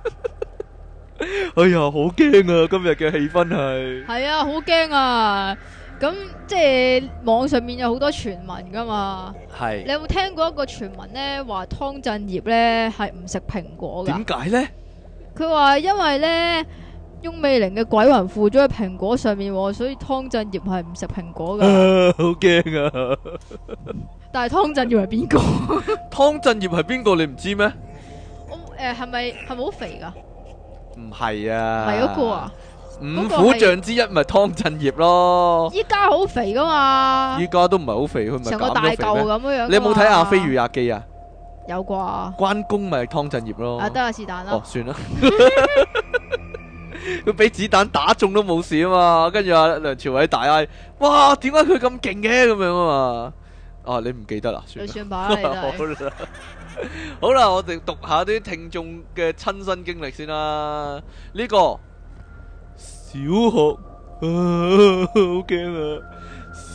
哎呀，好驚啊！今日嘅氣氛係係啊，好驚啊！咁即係網上面有好多傳聞噶嘛。係是。你有冇聽過一個傳聞咧？話湯鎮業咧係唔食蘋果噶？點解咧？佢話因為咧翁美玲嘅鬼魂附咗喺蘋果上面，所以湯鎮業係唔食蘋果噶。 好驚啊！ 但係湯鎮業係邊個？ 湯鎮業係邊個？你唔知咩？ 我誒係咪係咪好肥噶？ 唔係啊， 係嗰個啊， 五虎將之一咪湯鎮業咯。 依家好肥噶嘛？ 依家都唔係好肥，佢咪成個大嚿咁樣。 你有冇睇阿飛與阿基啊？ 有啩。關公咪湯鎮業咯。 啊，得啊，是但啦。 哦，算啦。佢俾子彈打中都冇事啊嘛，跟住阿梁朝偉大嗌：哇，點解佢咁勁嘅咁樣啊嘛？啊，你唔記得啦？算啦。算吧，你都係。好啦，我哋讀下啲聽眾嘅親身經歷先啦。呢個小學啊，好驚啊！小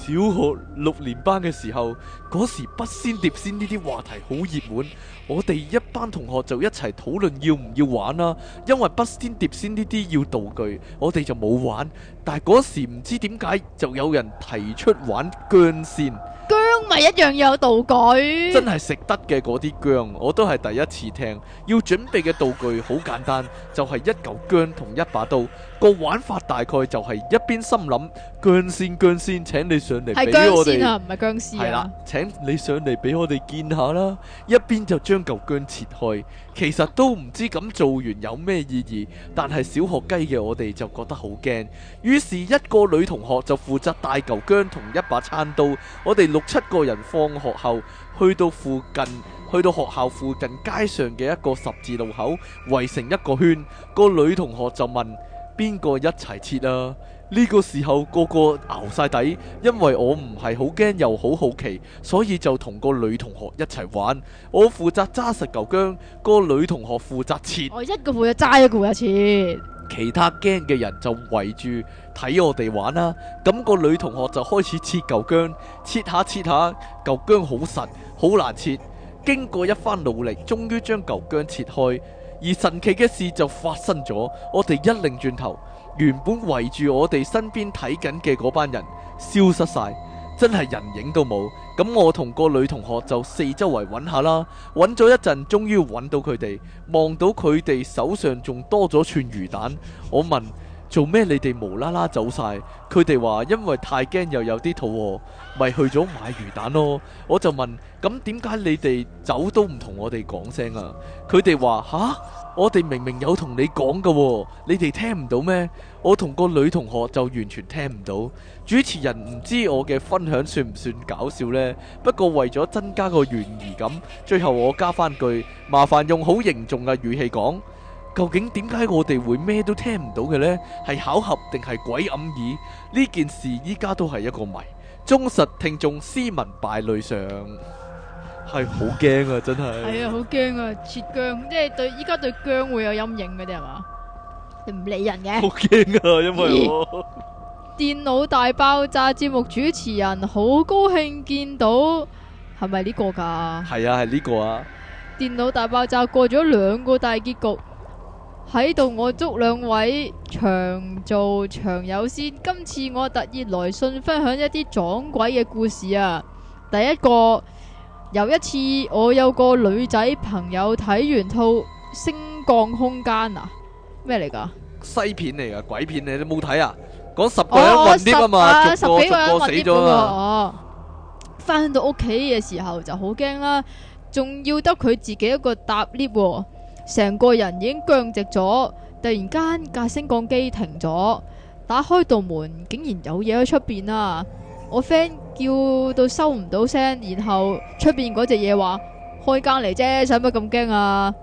小學六年班嘅時候，嗰時筆仙碟仙呢啲話題好熱門，我哋一班同學就一齊討論要唔要玩啦。因為筆仙碟仙呢啲要道具，我哋就冇玩。但係嗰時唔知點解就有人提出玩薑仙。 薑咪一樣有道具， 真係食得嘅嗰啲薑，我都係第一次聽。要準備嘅道具好簡單，就係一嚿薑同一把刀。個玩法大概就係一邊心諗薑仙薑仙，請你上嚟俾我哋。係薑仙啊，唔係薑絲啊。係啦，請你上嚟俾我哋見下啦。一邊就將嚿薑切開，其實都唔知咁做完有咩意義，但係小學雞嘅我哋就覺得好驚。於是，一個女同學就負責帶嚿薑同一把餐刀，我哋六七個人放學後去到附近，去到學校附近街上嘅一個十字路口，圍成一個圈。個女同學就問邊個一齊切啊？呢個時候個個熬晒底，因為我唔係好驚又好好奇，所以就同個女同學一齊玩。我負責揸實嚿薑，個女同學負責切。我一個負責揸，一個負責切。其他驚嘅人就圍住睇我哋玩啦。咁個女同學就開始切嚿薑，切下切下，嚿薑好實，好難切。經過一番努力，終於將嚿薑切開。而神奇嘅事就發生咗，我哋一擰轉頭，原本圍住我哋身邊睇緊嘅嗰班人消失晒，真係人影都冇。咁我同個女同學就四周圍揾下啦，揾咗一陣，終於揾到佢哋，望到佢哋手上仲多咗串魚蛋。我問做咩你哋無啦啦走晒？佢哋話因為太驚又有啲肚餓，咪去咗買魚蛋咯。我就問咁點解你哋走都唔同我哋講聲啊？佢哋話吓，我哋明明有同你講噶喎，你哋聽唔到咩？我同個女同學就完全聽唔到。主持人唔知我嘅分享算唔算搞笑呢？不過為咗增加個懸疑感，最後我加翻句，麻煩用好凝重嘅語氣講，究竟點解我哋會咩都聽唔到嘅呢？係巧合定係鬼暗耳？呢件事依家都係一個謎。忠實聽眾斯文敗類上係好驚啊！真係係啊，好驚啊！切薑即係對依家對薑會有陰影嗰啲係嘛？你唔理人嘅，好驚啊！因為我電腦大爆炸節目主持人好高興見到，係咪呢個噶？係啊，係呢個啊！電腦大爆炸過咗兩個大結局。喺度我祝兩位長做長有先。今次我特意來信分享一啲撞鬼嘅故事啊。第一個，有一次我有個女仔朋友睇完套升降空間啊，咩嚟噶？西片嚟噶，鬼片嚟，你冇睇啊？講十個人暈啲啊嘛，逐個逐個死咗啊！翻到屋企嘅時候就好驚啦，仲要得佢自己一個搭 lift。成個人已經僵直咗，突然間架升降機停咗，打開道門竟然有嘢喺出邊啊！我 friend 叫到收唔到聲，然後出邊嗰隻嘢話開間嚟啫，使乜咁驚啊？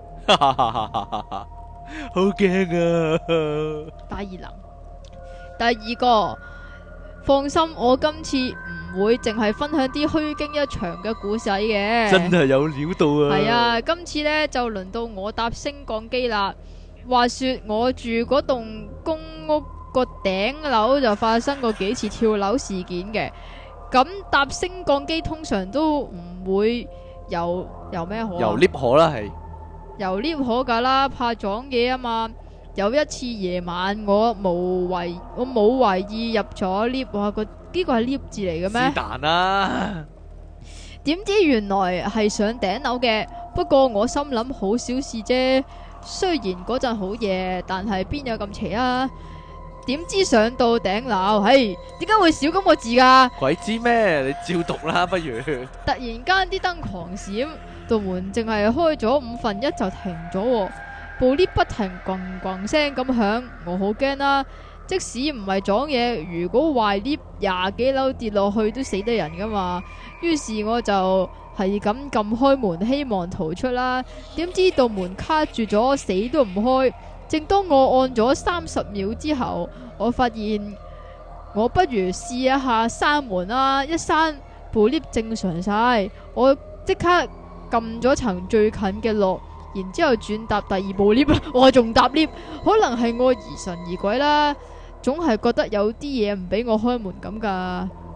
好驚啊！大二能，第二個，放心，我今次唔會淨係分享啲虛驚一場嘅故事嘅，真係有料到啊！係啊，今次呢就輪到我搭升降機啦。話說我住嗰棟公屋個頂樓就發生過幾次跳樓事件嘅。咁搭升降機通常都唔會由由咩可？由 lift 可啦，係由 lift 可噶啦，怕撞嘢啊嘛。有一次夜晚我無為我冇懷意入咗 lift， 哇！個呢個係 lift 字嚟嘅咩？是但啦。點知原來係上頂樓嘅，不過我心諗好小事啫。雖然嗰陣好夜，但係邊有咁邪啊？點知上到頂樓，嘿，點解會少咁個字噶？鬼知咩？你照讀啦，不如。突然間啲燈狂閃，道門淨係開咗五分一就停咗。部 lift 不停咣咣聲咁響，我好驚啦！即使唔係撞嘢，如果壞 lift 廿幾樓跌落去都死得人噶嘛。於是我就係咁撳開門，希望逃出啦。點知道門卡住咗，死都唔開。正當我按咗三十秒之後，我發現我不如試一下閂門啦。一閂，部 lift 正常晒，我即刻撳咗層最近嘅落。然之後轉搭第二部 lift， 我仲搭 lift， 可能係我疑神疑鬼啦，總係覺得有啲嘢唔俾我開門咁噶。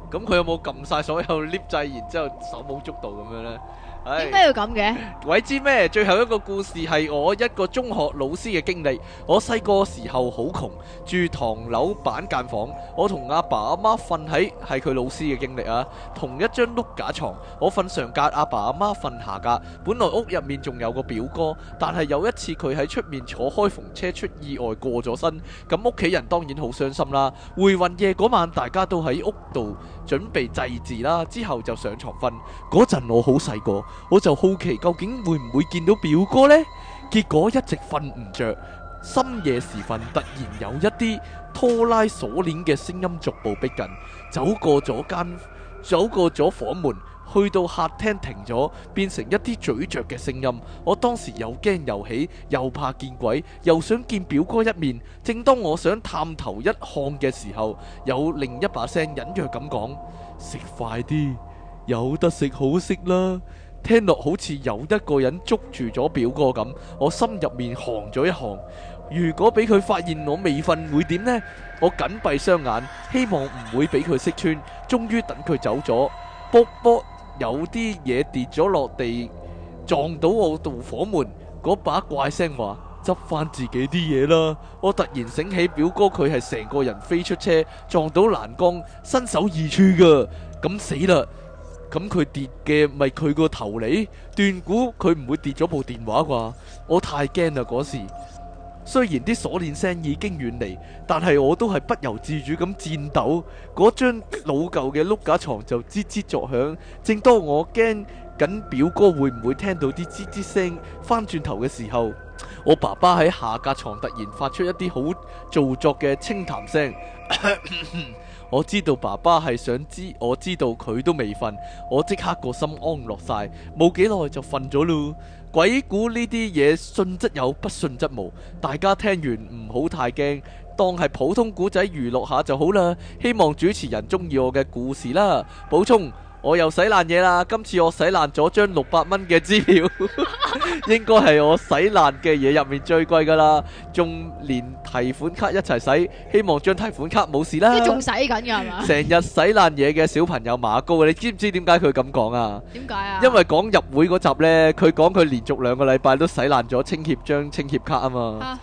咁佢有冇撳晒所有 lift 掣，然之後手舞足蹈咁樣呢？ 點解要咁嘅？ 鬼知咩？最後一個故事係我一個中學老師嘅經歷。我細個時候好窮，住唐樓板間房。我同阿爸阿媽瞓喺，係佢老師嘅經歷啊，同一張碌架床。我瞓上格，阿爸阿媽瞓下格。本來屋入面仲有個表哥，但係有一次佢喺出面坐開篷車出意外過咗身，咁屋企人當然好傷心啦。回魂夜嗰晚，大家都喺屋度準備祭祀啦，之後就上床瞓。嗰陣我好細個。我就好奇究竟會唔會見到表哥呢？結果一直瞓唔着，深夜時分突然有一啲拖拉鎖鏈嘅聲音逐步逼近，走過咗間，走過咗房門，去到客廳停咗，變成一啲咀嚼嘅聲音。我當時又驚又喜，又怕見鬼，又想見表哥一面。正當我想探頭一看嘅時候，有另一把聲隱約咁講：食快啲，有得食好食啦。聽落好似有一個人捉住咗表哥咁，我心入面寒咗一寒。如果俾佢發現我未瞓會點呢？我緊閉雙眼，希望唔會俾佢識穿。終於等佢走咗，卜卜有啲嘢跌咗落地，撞到我度房門。嗰把怪聲話：執翻自己啲嘢啦！我突然醒起，表哥佢係成個人飛出車，撞到欄杆，身首異處噶，咁死啦！咁佢跌嘅咪佢個頭嚟，斷估佢唔會跌咗部電話啩？我太驚啦嗰時。雖然啲鎖鏈聲已經遠離，但係我都係不由自主咁顫抖。嗰張老舊嘅碌架床就吱吱作響。正當我驚緊表哥會唔會聽到啲吱吱聲，翻轉頭嘅時候，我爸爸喺下格床突然發出一啲好做作嘅清談聲。我知道爸爸係想知，我知道佢都未瞓，我即刻個心安樂晒，冇幾耐就瞓咗咯。鬼故呢啲嘢信則有，不信則無，大家聽完唔好太驚，當係普通古仔娛樂下就好啦。希望主持人中意我嘅故事啦。補充，我又洗爛嘢啦，今次我洗爛咗張六百蚊嘅支票，應該係我洗爛嘅嘢入面最貴噶啦，仲連提款卡一齊洗，希望張提款卡冇事啦。 即係仲洗緊噶係嘛？ 成日洗爛嘢嘅小朋友馬高，你知唔知點解佢咁講啊？ 點解啊？ 因為講入會嗰集呢，佢講佢連續兩個禮拜都洗爛咗清協張清協卡啊嘛。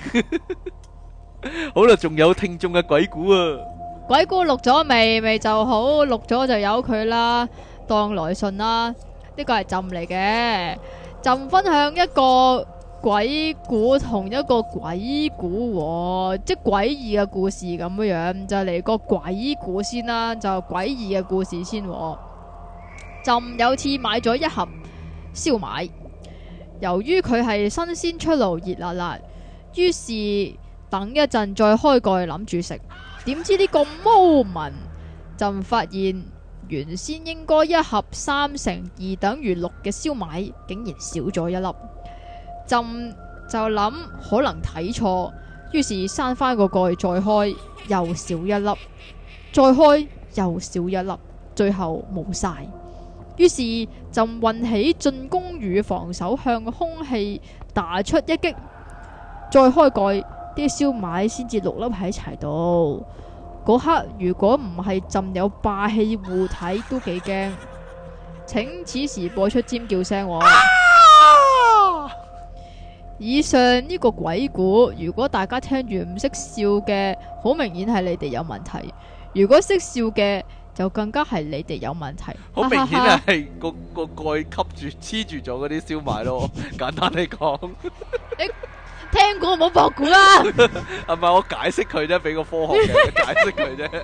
好啦，仲有聽眾嘅鬼故啊！ 鬼故錄咗未？未就好，錄咗就由佢啦，當來信啦。呢個係朕嚟嘅，朕分享一個鬼故同一個鬼故、哦，即係詭異嘅故事咁樣樣，就嚟個鬼故先啦，就詭異嘅故事先、哦。朕有次買咗一盒燒賣，由於佢係新鮮出爐熱辣辣，於是等一陣再開蓋諗住食。點知呢個 moment 朕發現原先應該一盒三乘二等於六嘅燒賣竟然少咗一粒，朕就諗可能睇錯，於是閂翻個蓋再開又少一粒，再開又少一粒，最後冇晒。於是朕運起進攻與防守，向空氣打出一擊，再開蓋。啲燒賣先至六粒喺齊度，嗰刻如果唔係朕有霸氣護體，都幾驚。請此時播出尖叫聲、哦。啊、以上呢個鬼故，如果大家聽完唔識笑嘅，好明顯係你哋有問題；如果識笑嘅，就更加係你哋有問題。 好明顯係個個蓋吸住黐住咗嗰啲燒賣咯。簡單嚟講。 聽過唔好博估啦， 係咪我解釋佢啫？俾個科學嘅解釋佢啫。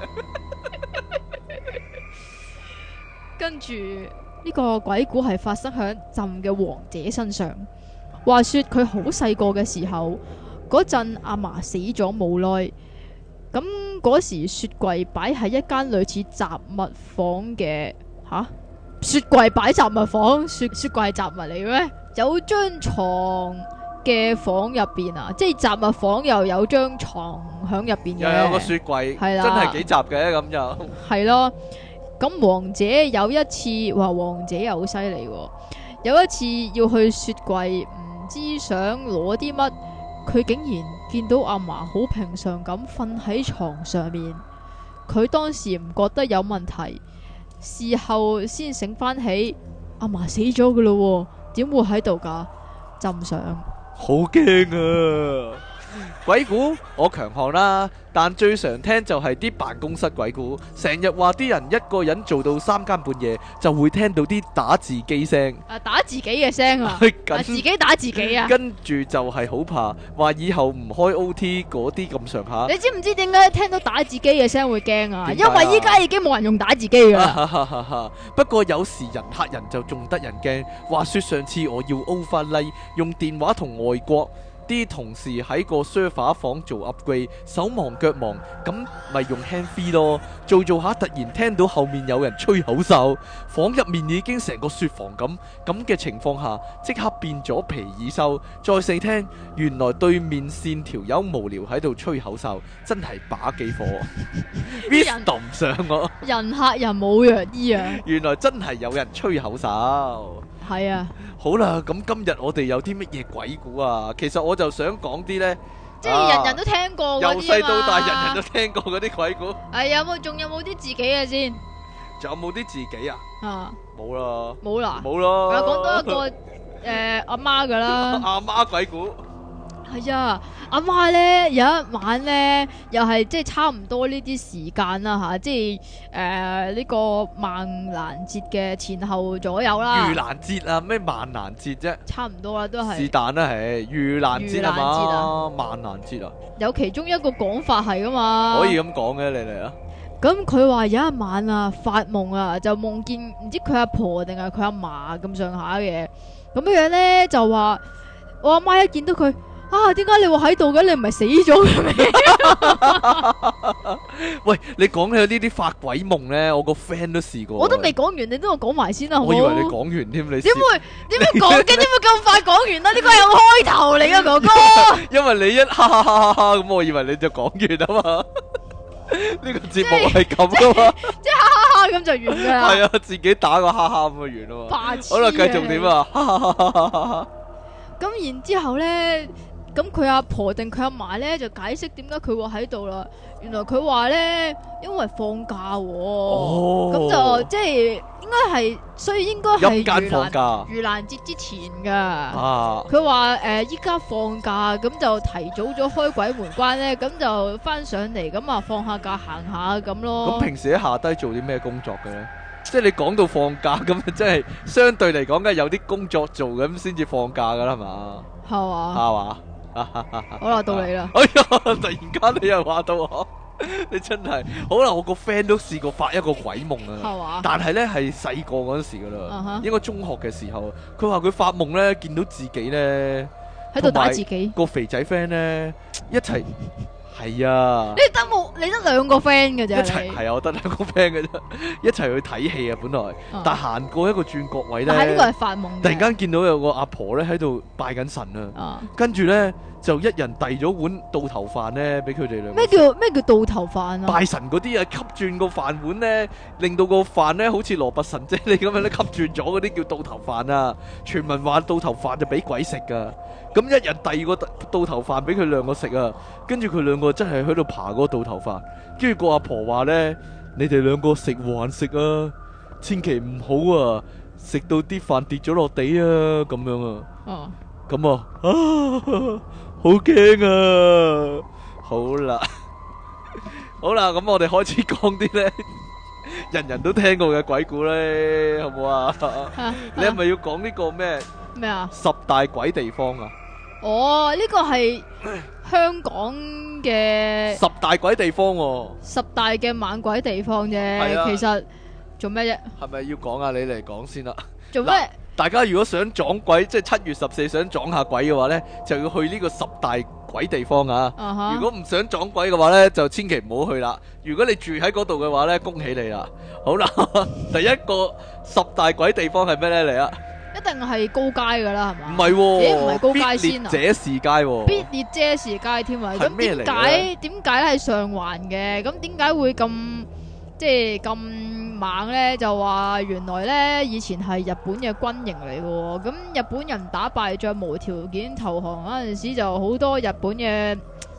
跟住呢個鬼故係發生喺朕嘅王姐身上。話說佢好細個嘅時候，嗰陣阿嫲死咗冇耐，咁嗰時雪櫃擺喺一間類似雜物房嘅吓，雪櫃擺雜物房，雪雪櫃係雜物嚟嘅咩？有張床嘅房入邊啊，即係雜物房又有張床響入邊嘅， 又有個雪櫃，係啦，真係幾雜嘅咁就係咯。咁王姐有一次話，王姐又好犀利，有一次要去雪櫃，唔知想攞啲乜，佢竟然見到阿嫲好平常咁瞓喺床上面， 佢當時唔覺得有問題，事後先醒翻起，阿嫲死咗噶咯，點會喺度噶？浸上， 好驚啊！鬼故我強項啦，但最常聽就係啲辦公室鬼故，成日話啲人一個人做到三更半夜就會聽到啲打字機聲， 啊打自己嘅聲啊， 跟啊自己打自己啊， 跟住就係好怕，話以後唔開 O T 嗰啲咁上下。 你知唔知點解聽到打字機嘅聲會驚啊？ 點解啊？ 因為依家已經冇人用打字機噶啦。 不過有時人嚇人就仲得人驚。話說上次我要 overlay 用電話同外國啲同事喺個 server 房做 upgrade， 手忙腳忙，咁咪用 handfree 咯。做做下突然聽到後面有人吹口哨，房入面已經成個雪房咁，咁嘅情況下即刻變咗皮爾獸。再細聽，原來對面線條友無聊喺度吹口哨，真係把幾火。Wisdom 上我人嚇人冇藥醫啊！ 原來真係有人吹口哨。 係啊， 好啦，咁今日我哋有啲乜嘢鬼故啊？其實我就想講啲呢， 即係人人都聽過嗰啲啊嘛， 由細到大人人都聽過嗰啲鬼故。 係有冇？仲有冇啲自己嘅先？ 仲有冇啲自己啊？ 啊， 冇啦， 冇啦， 冇咯。 啊，講多一個誒阿媽噶啦。 阿媽鬼故。 係啊，阿媽咧有一晚咧，又係即係差唔多呢啲時間啦吓，即係誒呢個萬蘭節嘅前後左右啦。 盂蘭節啊，咩萬蘭節啫？ 差唔多啦，都係。 是但啦，係盂蘭節係嘛？萬蘭節啊？ 有其中一個講法係噶嘛？ 可以咁講嘅，你嚟啊！ 咁佢話有一晚啊，發夢啊，就夢見唔知佢阿婆定係佢阿嫲咁上下嘅，咁樣樣咧就話我阿媽一見到佢。啊！點解你會喺度嘅？你唔係死咗嘅咩？ 喂，你講起呢啲發鬼夢咧，我個 friend 都試過。 我都未講完，你都我講埋先啦，好唔好？ 我以為你講完添，你點會點會講嘅？點會咁快講完啦？呢個係個開頭嚟嘅，哥哥。 因為你一哈哈哈哈哈咁，我以為你就講完啊嘛。呢個節目係咁噶嘛？ 即係哈哈哈咁就完噶啦。係啊，自己打個哈哈咁就完啊嘛。 白痴。 好啦，繼續點啊？哈哈哈哈哈哈。 咁然之後咧。咁佢阿婆定佢阿嫲咧就解釋點解佢會喺度啦。原來佢話咧，因為放假喎，咁、哦、就即係應該係，所以應該係盂蘭盂蘭節之前噶。佢話誒，依家放假，咁就提早咗開鬼門關咧，咁就翻上嚟，咁啊放下假行下咁咯。 咁平時喺下低做啲咩工作嘅咧？即係你講到放假咁，即係相對嚟講，梗係有啲工作做咁先至放假噶啦，係嘛？ 係嘛？ 係嘛？ 好啦，到你啦！ 哎呀，突然間你又話到我，你真係好啦！我個 friend 都試過發一個鬼夢啊，係嘛？但係咧係細個嗰陣時噶啦，uh huh. 應該中學嘅時候，佢話佢發夢咧見到自己咧喺度打自己， 個肥仔 friend 咧一齊。係啊， 你得冇？你得兩個 friend 嘅啫， 一齊係啊，我得兩個 friend 嘅啫，一齊去睇戲啊，本來，啊、但行過一個轉角位咧， 但係呢個係發夢， 突然間見到有個阿婆咧喺度拜緊神啊，跟住咧就一人遞咗碗倒頭飯咧俾佢哋兩個。咩叫咩叫倒頭飯啊？ 拜神嗰啲啊，吸轉個飯碗咧，令到個飯咧好似羅拔神啫喱咁樣咧吸轉咗嗰啲叫倒頭飯啊！傳聞話倒頭飯就俾鬼食噶。咁一人遞個倒頭飯俾佢兩個食啊，跟住佢兩個真係喺度爬嗰個倒頭飯，跟住個阿婆話呢：你哋兩個食還食啊，千祈唔好啊，食到啲飯跌咗落地啊，咁樣啊，哦，咁啊，啊，好驚啊，好啦，好啦，咁我哋開始講啲呢人人都聽過嘅鬼故呢，好唔好啊？啊你係咪要講呢個咩？ 咩啊？ 十大鬼地方啊！ 哦，呢個係香港嘅十大鬼地方喎， 十大嘅猛鬼地方啫。 啊、 其實做咩啫？ 係咪要講啊？你嚟講先啦。 做咩？ 大家如果想撞鬼，即係七月十四想撞下鬼嘅話呢，就要去呢個十大鬼地方啊！ uh-huh. 如果唔想撞鬼嘅話呢，就千祈唔好去啦。如果你住喺嗰度嘅話呢，恭喜你啦！好啦，第一個十大鬼地方係咩呢？嚟啊！ 一定係高街噶啦，係嘛？ 唔係喎， 咦？唔係高街先啊？ 必列者士街喎， 必列者士街添啊！咁點解點解係上環嘅？咁點解會咁即係咁猛咧？就話原來咧以前係日本嘅軍營嚟嘅，咁日本人打敗仗無條件投降嗰陣時，就好多日本嘅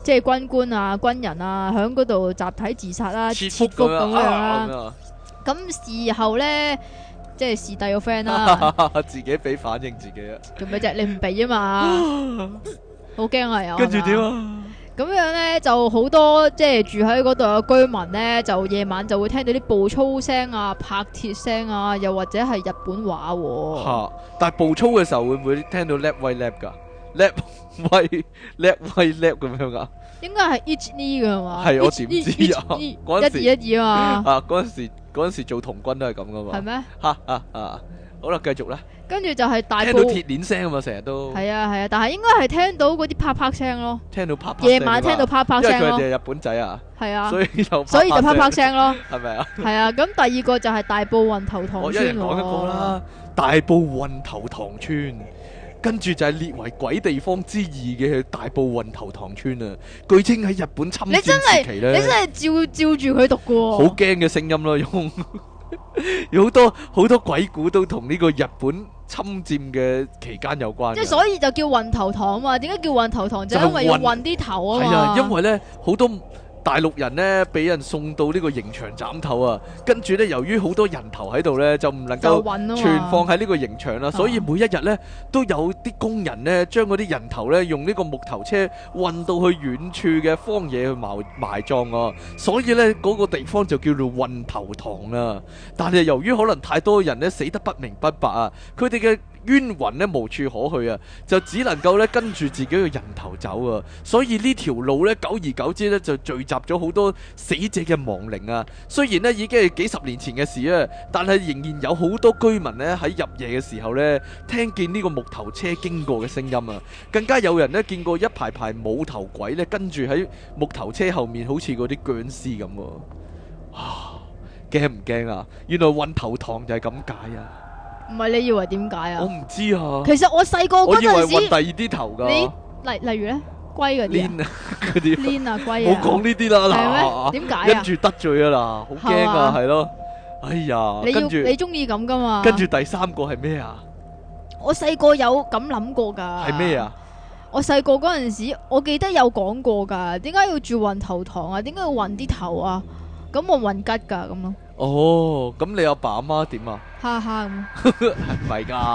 即係軍官啊、軍人啊，喺嗰度集體自殺啦、切腹咁樣啦。咁事後咧，即係視帝個 friend 啦， 自己俾反應自己啊！ 做咩啫？你唔俾啊嘛，好驚啊！有跟住點啊？ 咁樣咧就好多即係住喺嗰度嘅居民咧，就夜晚就會聽到啲步操聲啊、拍鐵聲啊，又或者係日本話喎。嚇！ 但係步操嘅時候會唔會聽到 lap 喂 lap 㗎？lap 喂 lap 喂 lap 咁樣㗎？應該係 each knee 㗎嘛？ 係我點知啊？嗰陣時一二一二啊嘛！ 啊嗰陣時嗰陣時做童軍都係咁㗎嘛？ 係咩？ 嚇啊啊！好啦，繼續啦。跟住就係大聽到鐵鏈聲啊嘛，成日都係啊係啊，但係應該係聽到嗰啲啪啪聲咯。 聽到啪啪聲， 夜晚聽到啪啪聲咯。 因為佢哋係日本仔啊。係啊，所以就所以就啪啪聲咯。 係咪啊？ 係啊，咁第二個就係大埔運頭塘村。 我一人講一個啦，大埔運頭塘村，跟住就係列為鬼地方之二嘅大埔運頭塘村啊。據稱喺日本侵佔時期咧， 你真係照照住佢讀嘅。 好驚嘅聲音咯，用。有好多好多鬼故都同呢個日本侵佔嘅期間有關， 即係所以就叫運頭塘啊嘛。點解叫運頭塘？就係因為要運啲頭啊嘛。 係啊，因為咧好多大陸人咧俾人送到呢個刑場斬頭啊，跟住咧由於好多人頭喺度咧，就唔能夠存放喺呢個刑場啦，所以每一日咧都有啲工人咧將嗰啲人頭咧用呢個木頭車運到去遠處嘅荒野去埋埋葬啊，所以咧嗰個地方就叫做運頭塘啦。但係由於可能太多人咧死得不明不白啊，佢哋嘅冤魂咧無處可去啊，就只能夠咧跟住自己嘅人頭走啊，所以呢條路咧久而久之咧就聚集咗好多死者嘅亡靈啊。雖然咧已經係幾十年前嘅事啊，但係仍然有好多居民咧喺入夜嘅時候咧聽見呢個木頭車經過嘅聲音啊，更加有人咧見過一排排冇頭鬼咧跟住喺木頭車後面好似嗰啲僵屍咁喎。啊，驚唔驚啊？原來運頭塘就係咁解啊！ 唔係，你以為點解啊？ 我唔知啊。 其實我細個嗰陣時， 我以為運第二啲頭噶。 你例例如咧，龜嗰啲鏈啊，嗰啲鏈啊，龜啊。 冇講呢啲啦，嗱。 點解啊？ 跟住得罪啊嗱，好驚啊，係咯。哎呀， 你要跟住你中意咁噶嘛？ 跟住第三個係咩啊？ 我細個有咁諗過噶。 係咩啊？ 我細個嗰陣時，我記得有講過噶。點解要住運頭塘啊？點解要運啲頭啊？咁我運吉噶咁咯。 哦，咁你阿爸阿媽點啊？ 哈哈咁， 係咪噶？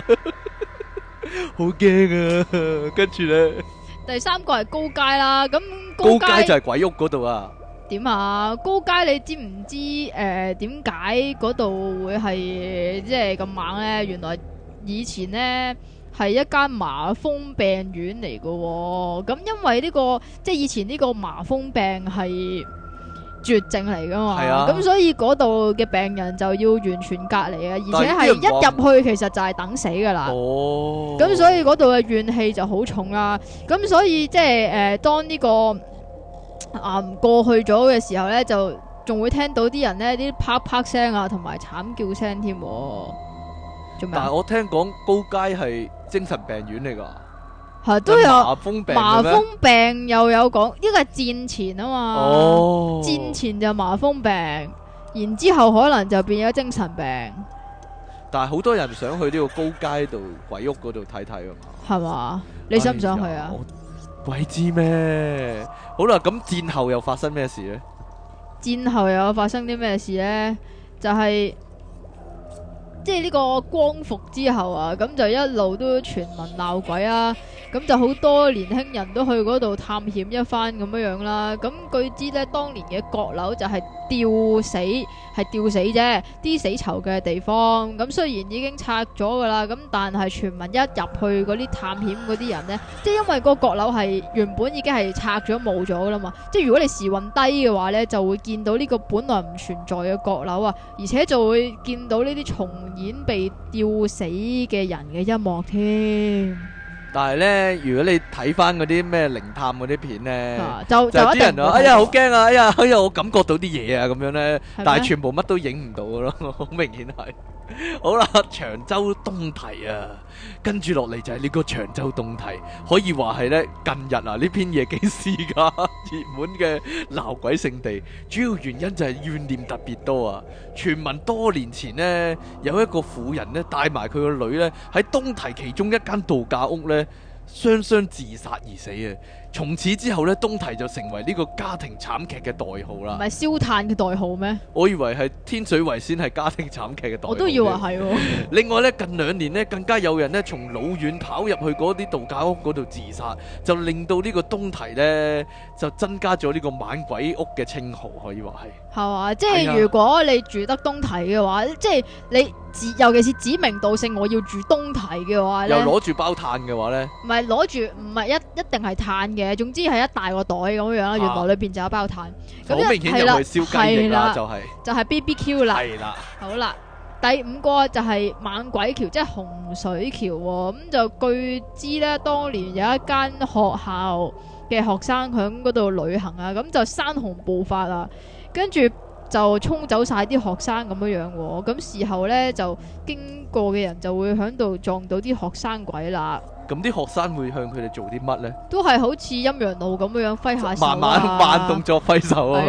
好驚啊！跟住咧， 第三個係高街啦。咁高街就係鬼屋嗰度啊？ 點啊？高街你知唔知誒？點解嗰度會係即係咁猛咧？原來以前咧係一間麻風病院嚟噶。咁因為呢個即係以前呢個麻風病係絕症嚟噶嘛，咁、啊、所以嗰度嘅病人就要完全隔離啊，而且係一入去其實就係等死噶啦。哦，咁所以嗰度嘅怨氣就好重啦。咁所以即係誒，當呢、這個啊、呃、過去咗嘅時候咧，就仲會聽到啲人咧啲啪啪聲啊，同埋慘叫聲添。做咩？ 但係我聽講高街係精神病院嚟噶。 係都有麻風病， 麻風病又有講，呢個係戰前啊嘛。 哦， 戰前就麻風病，然之後可能就變咗精神病。 但係好多人想去呢個高街度鬼屋嗰度睇睇啊嘛。係嘛？你想唔想去啊？ 鬼知咩？好啦，咁戰後又發生咩事呢？ 戰後又有發生啲咩事呢？就係、是。即係呢個光復之後啊，咁就一路都傳聞鬧鬼啊，咁就好多年輕人都去嗰度探險一番咁樣樣啦。咁據知呢，當年嘅閣樓就係吊死，係吊死啫，啲死囚嘅地方。咁雖然已經拆咗噶啦，咁但係傳聞一入去嗰啲探險嗰啲人呢，即係因為個閣樓係原本已經係拆咗冇咗噶啦嘛。即係如果你時運低嘅話呢，就會見到呢個本來唔存在嘅閣樓啊，而且就會見到呢啲重演被吊死嘅人嘅一幕添。但係咧，如果你睇翻嗰啲咩靈探嗰啲片咧、啊，就就啲人話：哎呀，好驚啊！哎呀，哎呀，我感覺到啲嘢啊，咁樣咧。但係全部乜都影唔到噶咯，好明顯係。好啦，長洲東堤啊，跟住落嚟就係呢個長洲東堤，可以話係咧近日啊呢篇嘢幾時噶熱門嘅鬧鬼聖地，主要原因就係怨念特別多啊。傳聞多年前呢，有一個婦人咧帶埋佢個女咧喺東堤其中一間度假屋咧雙雙自殺而死啊。 從此之後咧，東堤就成為呢個家庭慘劇嘅代號啦。 唔係燒炭嘅代號咩？ 我以為係天水圍先係家庭慘劇嘅代號。 我都以為係喎。 另外咧，近兩年咧，更加有人咧從老遠跑入去嗰啲度假屋嗰度自殺，就令到呢個東堤咧就增加咗呢個猛鬼屋嘅稱號，可以話係。 係嘛？即係如果你住得東堤嘅話，即係你指，尤其是指名道姓我要住東堤嘅話咧， 又攞住包炭嘅話咧， 唔係攞住，唔係一一定係炭嘅，總之係一大個袋咁樣啦。原來裏邊就有包炭， 好明顯入去燒雞翼啦，就係就係 B B Q 啦。 係啦， 好啦，第五個就係猛鬼橋，即係洪水橋喎。咁就據知咧，當年有一間學校嘅學生喺嗰度旅行啊，咁就山洪暴發啊。跟住就沖走晒啲學生咁樣樣喎，咁事後呢，就經過嘅人就會喺度撞到啲學生鬼啦。咁啲學生會向佢哋做啲乜呢？ 都係好似陰陽路咁樣樣揮下手啊， 慢慢慢動作揮手啊，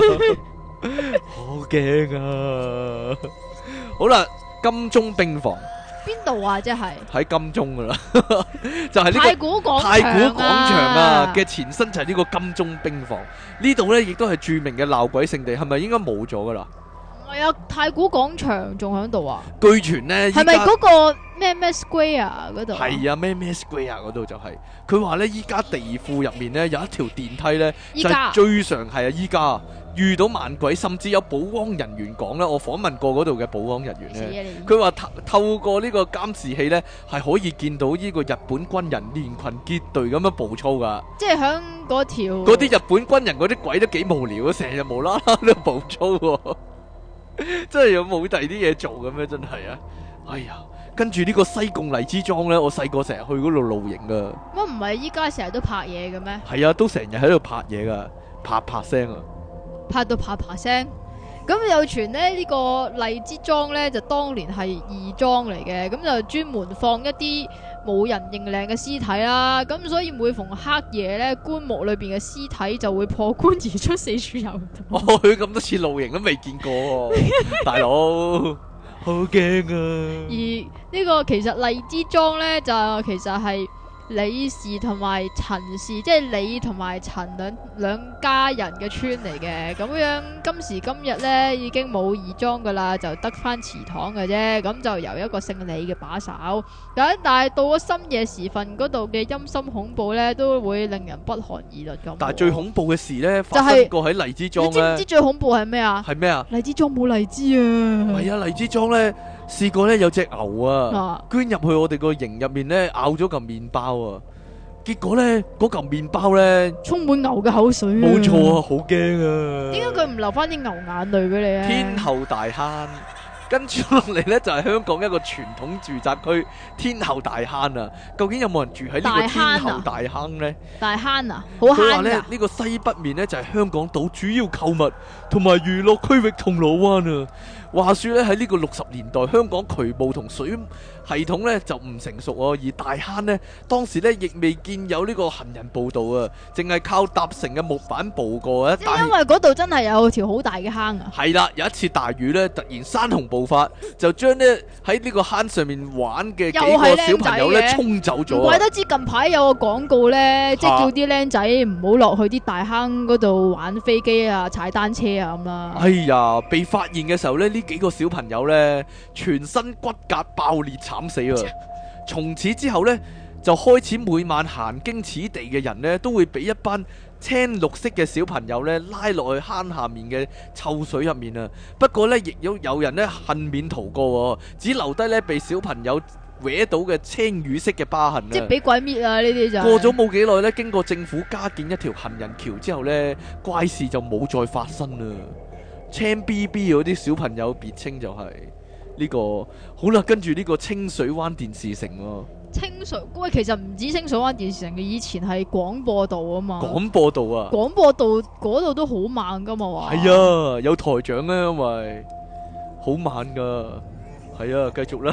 好驚啊！好啦，金鐘兵房。 邊度啊？即係喺金鐘噶啦，就係呢個太古廣太古廣場啊嘅前身就係呢個金鐘兵房。呢度呢亦都係著名嘅鬧鬼聖地，係咪應該冇咗噶啦？ 唔係啊，太古廣場仲喺度啊？ 據傳呢， 係咪嗰個咩咩 Square 嗰度？ 係啊，咩咩 Square 嗰度就係。佢話呢，依家地庫入面呢有一條電梯呢，就係最常係啊，依家。遇到猛鬼，甚至有保安人員講咧，我訪問過嗰度嘅保安人員咧，佢話透透過呢個監視器咧，係可以見到呢個日本軍人連群結隊咁樣步操噶。即係響嗰條嗰啲日本軍人嗰啲鬼都幾無聊啊，成日無啦啦都步操喎，真係有冇第二啲嘢做嘅咩？真係啊！哎呀，跟住呢個西貢荔枝莊咧，我細個成日去嗰度露營噶。乜唔係依家成日都拍嘢嘅咩？係啊，都成日喺度拍嘢噶，啪啪聲啊！拍到啪啪聲，咁有傳咧呢個荔枝莊呢，就當年係義莊嚟嘅，咁就專門放一啲冇人認領嘅屍體啦，咁所以每逢黑夜呢，棺木裏邊嘅屍體就會破棺而出，四處遊蕩。我去咁多次露營都未見過，大佬好驚啊！而呢個其實荔枝莊呢，就其實係李氏同埋陳氏，即係李同埋陳兩兩家人嘅村嚟嘅，咁樣今時今日呢，已經冇義莊噶啦，就得翻祠堂嘅啫，咁就由一個姓李嘅把守。咁但係到咗深夜時分，嗰度嘅陰森恐怖呢，都會令人不寒而栗咁。但係最恐怖嘅事呢，發生過喺荔枝莊。你知唔知最恐怖係咩啊？係咩啊？荔枝莊冇荔枝啊！係啊，荔枝莊呢。試過咧有隻牛啊，啊捐入去我哋個營入面咧咬咗嚿麵包啊，結果咧嗰嚿麵包咧充滿牛嘅口水，啊，冇錯啊，好驚啊！點解佢唔留翻啲牛眼淚俾你啊？天后大坑，跟住落嚟咧就係、是、香港一個傳統住宅區天后大坑啊！究竟有冇人住喺呢個天后大坑咧？大坑啊，好坑啊！佢話咧呢、這個西北面咧就係、是、香港島主要購物同埋娛樂區域銅鑼灣啊！話說咧喺呢個六十年代，香港渠務同水系統咧就唔成熟啊，而大坑呢，當時咧亦未見有呢個行人步道啊，淨係靠搭成嘅木板步過啊。即係因為嗰度真係有條好大嘅坑啊。係啦，有一次大雨咧，突然山洪暴發，就將呢喺呢個坑上面玩嘅幾個小朋友咧沖走咗。唔怪得知近排有個廣告咧，即係叫啲僆仔唔好落去啲大坑嗰度玩飛機啊、踩單車啊咁啦。哎呀，被發現嘅時候咧，呢幾個小朋友咧全身骨骼爆裂慘死啊！從此之後呢，就開始每晚行經此地嘅人呢，都會俾一班青綠色嘅小朋友呢拉落去坑下面嘅臭水入面啊。不過呢，亦有有人呢幸免逃過，只留低呢被小朋友搲到嘅青瘀色嘅疤痕啊。即係俾鬼滅啊！呢啲就過咗冇幾耐呢，經過政府加建一條行人橋之後呢，怪事就冇再發生啦。青 B B 嗰啲小朋友別稱就係、是。呢、這個好啦，跟住呢個清水灣電視城喎。清水喂，其實唔止清水灣電視城嘅，以前係廣播道啊嘛。廣播道啊，廣播道嗰度都好猛噶嘛，話係啊，有台長啊，因為好猛噶，係啊，繼續啦。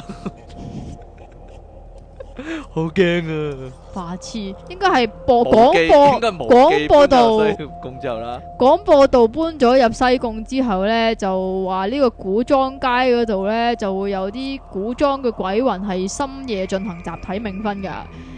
好驚啊！白痴，應該係播廣播廣播道，咁之後啦。廣播道搬咗入西貢之後呢，就話呢個古裝街嗰度呢，就會有啲古裝嘅鬼魂係深夜進行集體冥婚噶。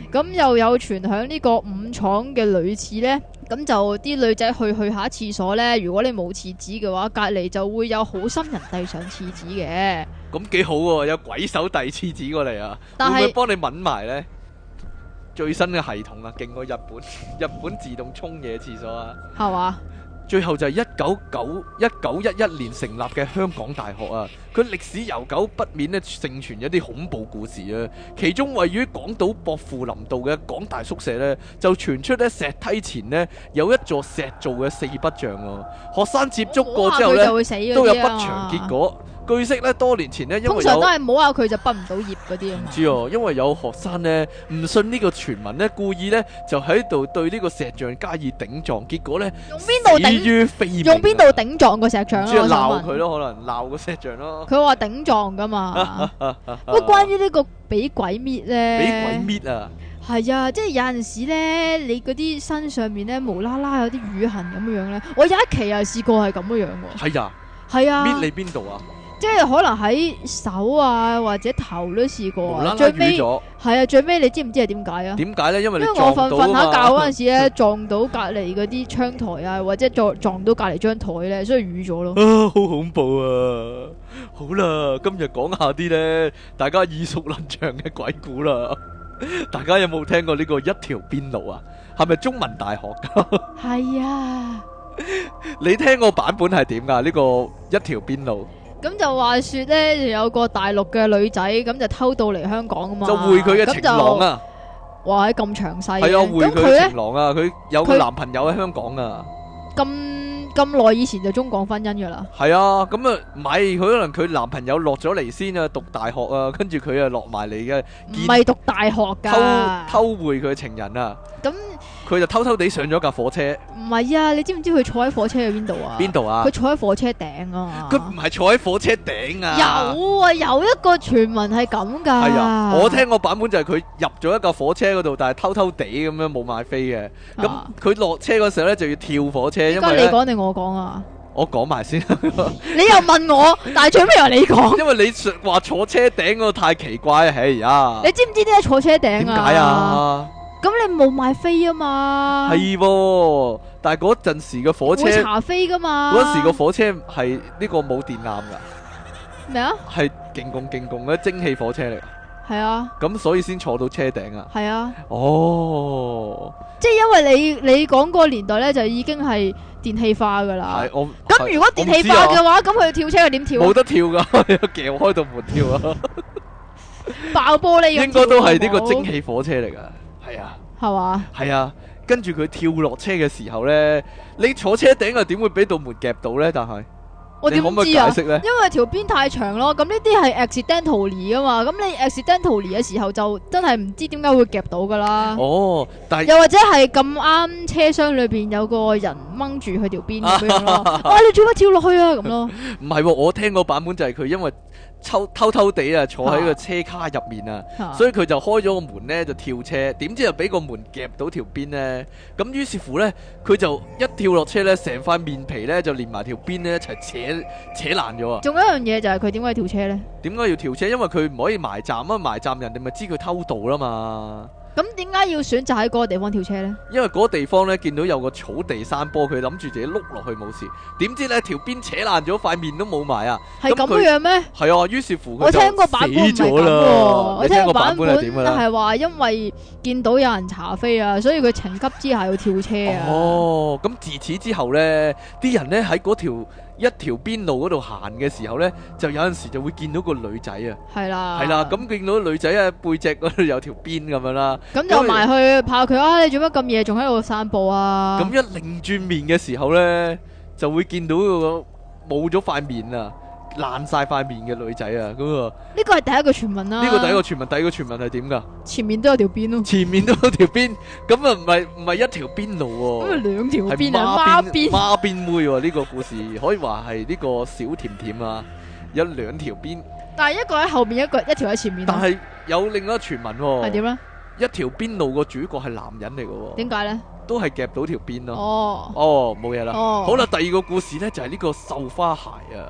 咁又有傳響呢個五廠嘅女廁呢，咁就啲女仔去去下廁所呢，如果你冇廁紙嘅話，隔離就會有好心人遞上廁紙嘅。 咁幾好喎，有鬼手遞廁紙過嚟啊！ 但係會唔會幫你抿埋呢？最新嘅系統啊，勁過日本，日本自動沖嘢廁所啊， 係嘛？ 最後就係一九九一九一一年成立嘅香港大學啊，佢歷史悠久，不免咧盛傳一啲恐怖故事啊。其中位於港島薄扶林道嘅港大宿舍呢，就傳出咧石梯前呢有一座石造嘅四不像啊。學生接觸過之後呢，都有不祥結果。據悉咧，多年前呢，因為有通常都係摸下佢就畢唔到業嗰啲啊。 唔知哦，因為有學生呢唔信呢個傳聞呢，故意呢就喺度對呢個石像加以頂撞，結果呢用邊度頂？ 死於非命。 用邊度頂撞個石像啊？ 主要鬧佢咯，可能鬧個石像咯。 佢話頂撞噶嘛。不過關於呢個俾鬼搣咧， 俾鬼搣啊！ 係啊，即係有陣時咧，你嗰啲身上面咧無啦啦有啲瘀痕咁樣樣咧，我有一期啊試過係咁樣樣喎。 係啊， 係啊， 搣你邊度啊？ 即係可能喺手啊或者頭都試過啊， 無啦啦最尾咗。 係啊，最尾你知唔知係點解啊？ 點解咧？因為你因為我瞓瞓下覺嗰陣時時咧，撞到隔離嗰啲窗台啊，或者撞撞到隔離張台咧，所以瘀咗咯。 啊，好恐怖啊！好啦，今日講下啲咧，大家耳熟能詳嘅鬼故啦。大家有冇聽過呢個一條邊路啊？係咪中文大學噶？ 係啊。 你聽個版本係點噶？呢個一條邊路？ 咁就話說咧，有個大陸嘅女仔咁就偷渡嚟香港啊嘛， 就會佢嘅情郎啊！ 哇，咁詳細嘅， 係啊，會佢嘅情郎啊，佢有個佢男朋友喺香港啊， 咁咁耐以前就中港婚姻噶啦。 係啊，咁啊，唔係佢可能佢男朋友落咗嚟先啊，讀大學啊，跟住佢啊落埋嚟嘅， 唔係讀大學噶， 偷偷會佢嘅情人啊， 咁佢就偷偷地上咗架火車。 唔係啊，你知唔知佢坐喺火車嘅邊度啊？ 邊度啊？ 佢坐喺火車頂啊！ 佢唔係坐喺火車頂啊！ 有啊，有一個傳聞係咁噶。 係啊，我聽個版本就係佢入咗一架火車嗰度，但係偷偷地咁樣冇買飛嘅。咁佢落車嗰時候咧就要跳火車，因為你講定我講啊？ 我講埋先。 你又問我，但係最尾由你講。 因為你話坐車頂嗰個太奇怪啊！哎呀， 你知唔知點解坐車頂啊？ 點解啊？ 咁你冇買飛啊嘛？ 係喎，但係嗰陣時嘅火車會查飛噶嘛？ 嗰陣時個火車係呢個冇電纜噶。 咩啊？ 係勁共勁共嘅蒸汽火車嚟。 係啊。咁所以先坐到車頂啊。 係啊。 哦。即係因為你你講嗰個年代咧，就已經係電氣化噶啦。 係我。 咁如果電氣化嘅話，咁佢跳車佢點跳啊？ 冇得跳噶，撬開道門跳啊！ 爆玻璃。 應該都係呢個蒸汽火車嚟噶。係啊， 係嘛？ 係啊，跟住佢跳落車嘅時候咧，你坐車頂啊，點會俾道門夾到咧？但係我點知啊？ 你可唔可以解釋咧？ 因為條邊太長咯，咁呢啲係 accidentally 啊嘛，咁你 accidentally 嘅時候就真係唔知點解會夾到噶啦。 哦，但係又或者係咁啱車廂裏邊有個人掹住佢條邊咁樣咯，哇！你做乜跳落去啊？咁咯。 唔係，我聽個版本就係佢因為。偷偷偷地啊，坐喺個車卡入面啊，啊所以佢就開咗個門呢，就跳車，點知又俾個門夾到條邊呢？咁於是乎呢，佢就一跳落車呢，成塊面皮呢，就連埋條邊呢一齊扯扯爛咗啊！ 仲有一樣嘢就係佢點解跳車呢？點解要跳車？因為佢唔可以埋站啊，埋站人哋咪知佢偷渡啦嘛。 咁點解要選擇喺嗰個地方跳車呢？ 因為嗰個地方呢，見到有個草地山坡，佢諗住自己碌落去冇事，點知呢條邊扯爛咗，塊面都冇埋啊！ 係咁樣咩？ 係啊，於是乎佢我聽過版本唔係咁喎，我聽過版本係點嘅咧？ 係話因為見到有人查飛啊，所以佢情急之下要跳車啊！ 哦，咁自此之後呢，啲人呢喺嗰條一條邊路嗰度行嘅時候呢，就有陣時就會見到個女仔啊， 係啦， 係啦，咁見到女仔啊背脊嗰度有條邊咁樣啦， 咁就埋去怕佢啊！你做乜咁夜仲喺度散步啊？ 咁一擰轉面嘅時候呢，就會見到個冇咗塊面啊，爛晒塊面嘅女仔啊，咁啊， 呢個係第一個傳聞啦。 呢個第一個傳聞，第二個傳聞係點噶？ 前面都有條邊咯， 前面都有條邊，咁啊唔係唔係一條邊路喎， 咁啊兩條邊啊，孖邊孖邊妹喎，呢個故事可以話係呢個小甜甜啊，有兩條邊， 但係一個喺後面，一個一條喺前面。 但係有另一個傳聞喎， 係點咧？一條邊路個主角係男人嚟嘅喎， 點解咧？ 都係夾到條邊咯。 哦， 哦，冇嘢啦。 哦， 好啦，第二個故事咧就係呢個繡花鞋啊。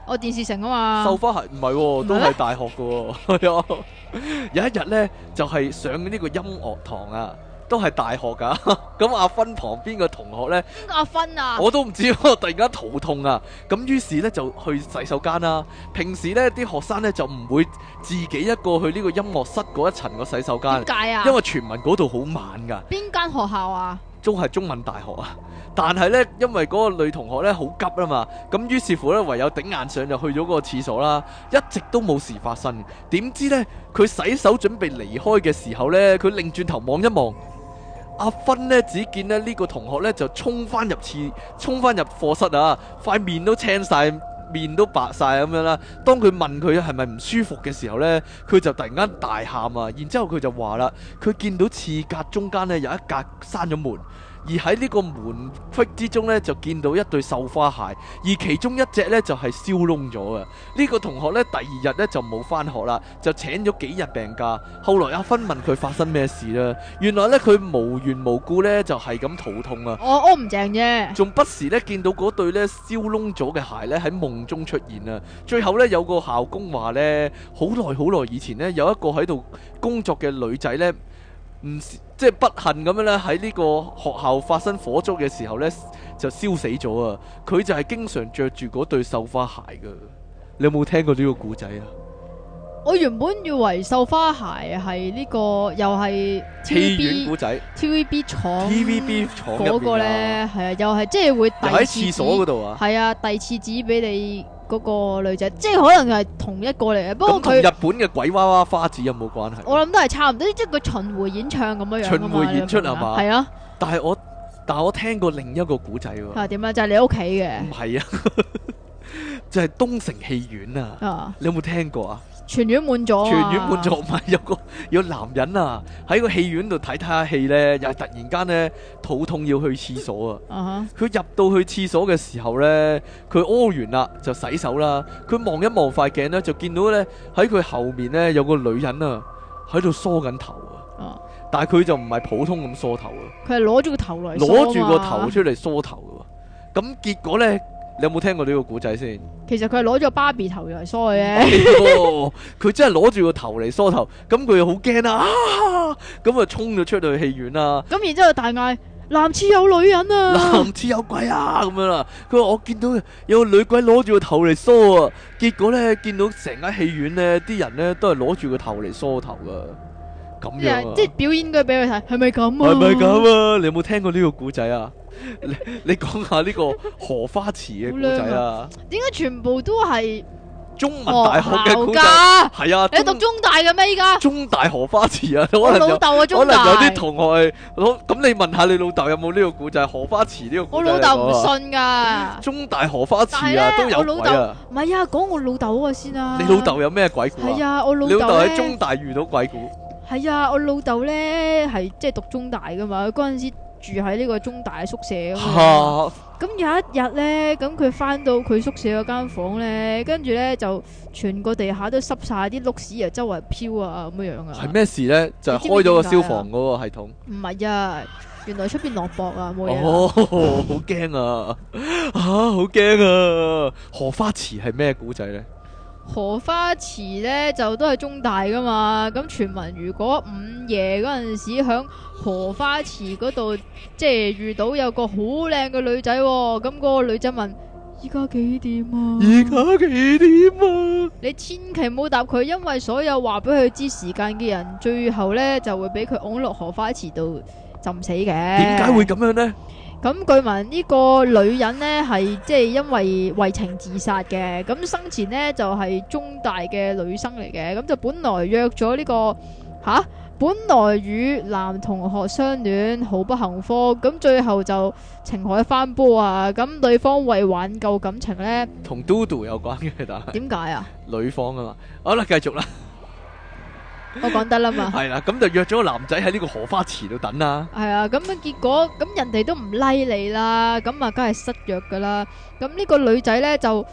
我電視城啊嘛。 繡花鞋唔係喎，都係大學嘅喎。係啊，有一日咧就係上呢個音樂堂啊。都係大學噶，咁阿芬旁邊個同學呢， 邊個阿芬啊？ 我都唔知，我突然間肚痛啊！咁於是呢，就去洗手間啦。平時呢啲學生呢，就唔會自己一個去呢個音樂室嗰一層個洗手間。 點解啊？ 因為傳聞嗰度好猛噶。 邊間學校啊？都係中文大學啊！但係呢，因為嗰個女同學呢好急啊嘛，咁於是乎呢，唯有頂硬上就去咗嗰個廁所啦，一直都冇事發生。點知呢，佢洗手準備離開嘅時候呢，佢擰轉頭望一望。阿芬呢，只見咧呢個同學呢就衝翻入廁，衝翻入課室啊！塊面都青晒，面都白晒咁樣啦。當佢問佢係咪唔舒服嘅時候呢，佢就突然間大喊啊！然之後佢就話啦，佢見到廁格中間呢有一格閂咗門。而喺呢個門隙之中呢，就見到一對繡花鞋，而其中一隻呢，就係燒窿咗嘅。呢、這個同學呢，第二日呢，就冇返學啦，就請咗幾日病假。後來阿芬問佢發生咩事啦，原來呢，佢無緣無故呢，就係咁肚痛啊！ 我屙唔正啫， 仲不時呢，見到嗰對呢燒窿咗嘅鞋呢，喺夢中出現啊！最後呢，有個校工話呢，好耐好耐以前呢，有一個喺度工作嘅女仔呢。唔即係不幸咁樣咧，喺呢個學校發生火燭嘅時候呢，就燒死咗啊！佢就係經常着住嗰對繡花鞋噶。你有冇聽過呢個故仔啊？ 我原本以為繡花鞋係呢、這個又係戲院故仔 T V B 廠 T V B 廠嗰個呢，係啊，又係即係會遞喺廁所嗰度啊， 係啊，遞廁紙俾你嗰個女仔，即係可能係同一個嚟嘅。不過佢日本嘅鬼娃娃花子有冇關係？ 我諗都係差唔多，即係佢巡迴演唱咁樣樣。 巡迴演出係嘛？ 係啊。 但係我但係我聽過另一個古仔喎。 係點啊？就係、是、你屋企嘅。唔係啊，就係東城戲院啊。啊你有冇聽過啊？ 全院滿咗， 全院滿咗，唔係有個有男人啊喺個戲院度睇睇下戲呢，又係突然間呢，肚痛要去廁所啊！佢、uh-huh. 入到去廁所嘅時候呢，佢屙完啦就洗手啦。佢望一望塊鏡呢，就見到呢，喺佢後面呢，有個女人啊喺度梳緊頭啊！Uh. 但係佢就唔係普通咁梳頭啊，佢係攞住個頭嚟攞住個頭出嚟梳頭嘅。咁結果呢？你有冇聽過呢個古仔先？其實佢係攞咗個芭比頭嚟梳嘅啫。佢真係攞住個頭嚟梳頭，咁佢又好驚啊！咁啊衝咗出去戲院啦。咁然之後大嗌：男廁有女人啊！男廁有鬼啊！咁樣啦。佢話我見到有個女鬼攞住個頭嚟梳啊。結果咧見到成間戲院咧啲人咧都係攞住個頭嚟梳頭噶。咁樣啊！即係表演嘅俾佢睇，係咪咁啊？係咪咁啊？你有冇聽過呢個古仔啊？你你講下呢個荷花池嘅古仔啊？點解全部都係中文大學嘅古仔？係啊，你讀中大嘅咩？依家中大荷花池啊？可能有老豆啊，中大可能有啲同學係咁，你問下你老豆有冇呢個古仔？荷花池呢個古仔，我老豆唔信噶。中大荷花池啊，都有鬼啊！唔係啊，講我老豆嗰個先啊。你老豆有咩鬼故啊？係啊，我老豆喺中大遇到鬼故。係啊，我老豆咧係即係讀中大噶嘛，嗰陣時住喺呢個中大宿舍咁。咁有一日咧，咁佢翻到佢宿舍嗰間房咧，跟住咧就全個地下都濕晒啲碌屎啊，周圍飄啊咁樣樣啊。係咩事咧？就係開咗個消防嗰個系統。唔係啊，原來出邊落雹啊，冇嘢。哦，好驚啊！啊，好驚啊！荷花池係咩古仔咧？荷花池咧就都係中大噶嘛，咁傳聞如果午夜嗰陣時響荷花池嗰度，即係遇到有個好靚嘅女仔，咁嗰個女仔問：依家幾點啊？依家幾點啊？你千祈唔好答佢，因為所有話俾佢知時間嘅人，最後咧就會俾佢㧬落荷花池度浸死嘅。點解會咁樣呢？咁據聞呢個女人呢係即係因為為情自殺嘅，咁生前呢就係、是、中大嘅女生嚟嘅，咁就本來約咗呢、這個吓，本來與男同學相戀，好不幸福，咁最後就情海翻波啊！咁對方為挽救感情呢，同嘟嘟有關嘅，但係點解啊？女方啊嘛，好啦，繼續啦。我講得啦嘛，係啦，咁就約咗個男仔喺呢個荷花池度等啦。係啊，咁樣結果咁人哋都唔 like 你啦，咁啊梗係失約噶啦。咁呢個女仔呢，就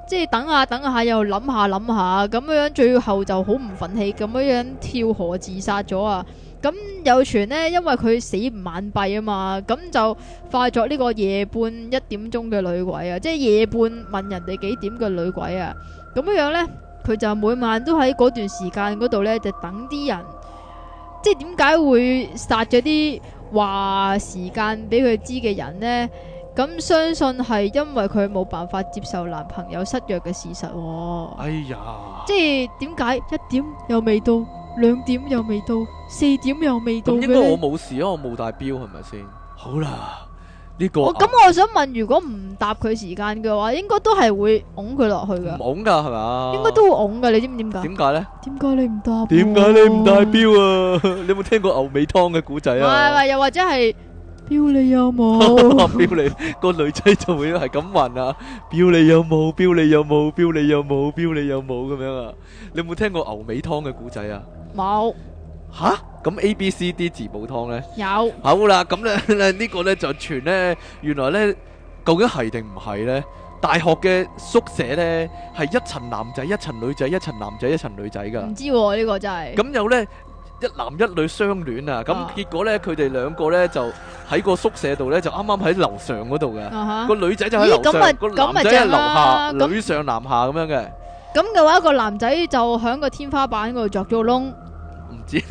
即係等下等下又諗下諗下咁樣，最後就好唔忿氣咁樣樣跳河自殺咗啊！咁有傳呢，因為佢死唔眼閉啊嘛，咁就化作呢個夜半一點鐘嘅女鬼啊，即係夜半問人哋幾點嘅女鬼啊！咁樣樣呢，佢就每晚都喺嗰段時間嗰度呢，就等啲人，即係點解會殺咗啲話時間俾佢知嘅人呢？咁相信係因為佢冇辦法接受男朋友失約嘅事實喎。 哎呀， 即係點解一點又未到，兩點又未到，四點又未到嘅呢？ 咁應該我冇事啊，我冇帶錶係咪先？好啦，呢個我咁我想問，如果唔答佢時間嘅話，應該都係會拱佢落去噶。 唔拱噶係咪？ 應該都會拱噶，你知唔知點解？ 點解咧？ 點解你唔答？ 點解你唔帶錶啊？你有冇聽過牛尾湯嘅古仔啊？ 唔係唔係，又或者係。錶你有冇？ 錶你個女仔就會係咁問啊！錶你有冇？錶你有冇？錶你有冇？錶你有冇咁樣啊？你有冇聽過牛尾湯嘅古仔啊？ 冇。 吓？咁 A B C D 字母湯咧？ 有。 好啦，咁咧呢個咧就傳咧，原來咧究竟係定唔係咧？大學嘅宿舍咧係一層男仔、一層女仔、一層男仔、一層女仔噶。 唔知喎，呢個真係。 咁有咧。一男一女相戀啊！咁結果咧，佢哋兩個咧就喺個宿舍度咧，就啱啱喺樓上嗰度嘅。個女仔就喺樓上，個男仔喺樓下，女上男下咁樣嘅。 咁嘅話，個男仔就喺個天花板嗰度鑿咗個窿。 唔知，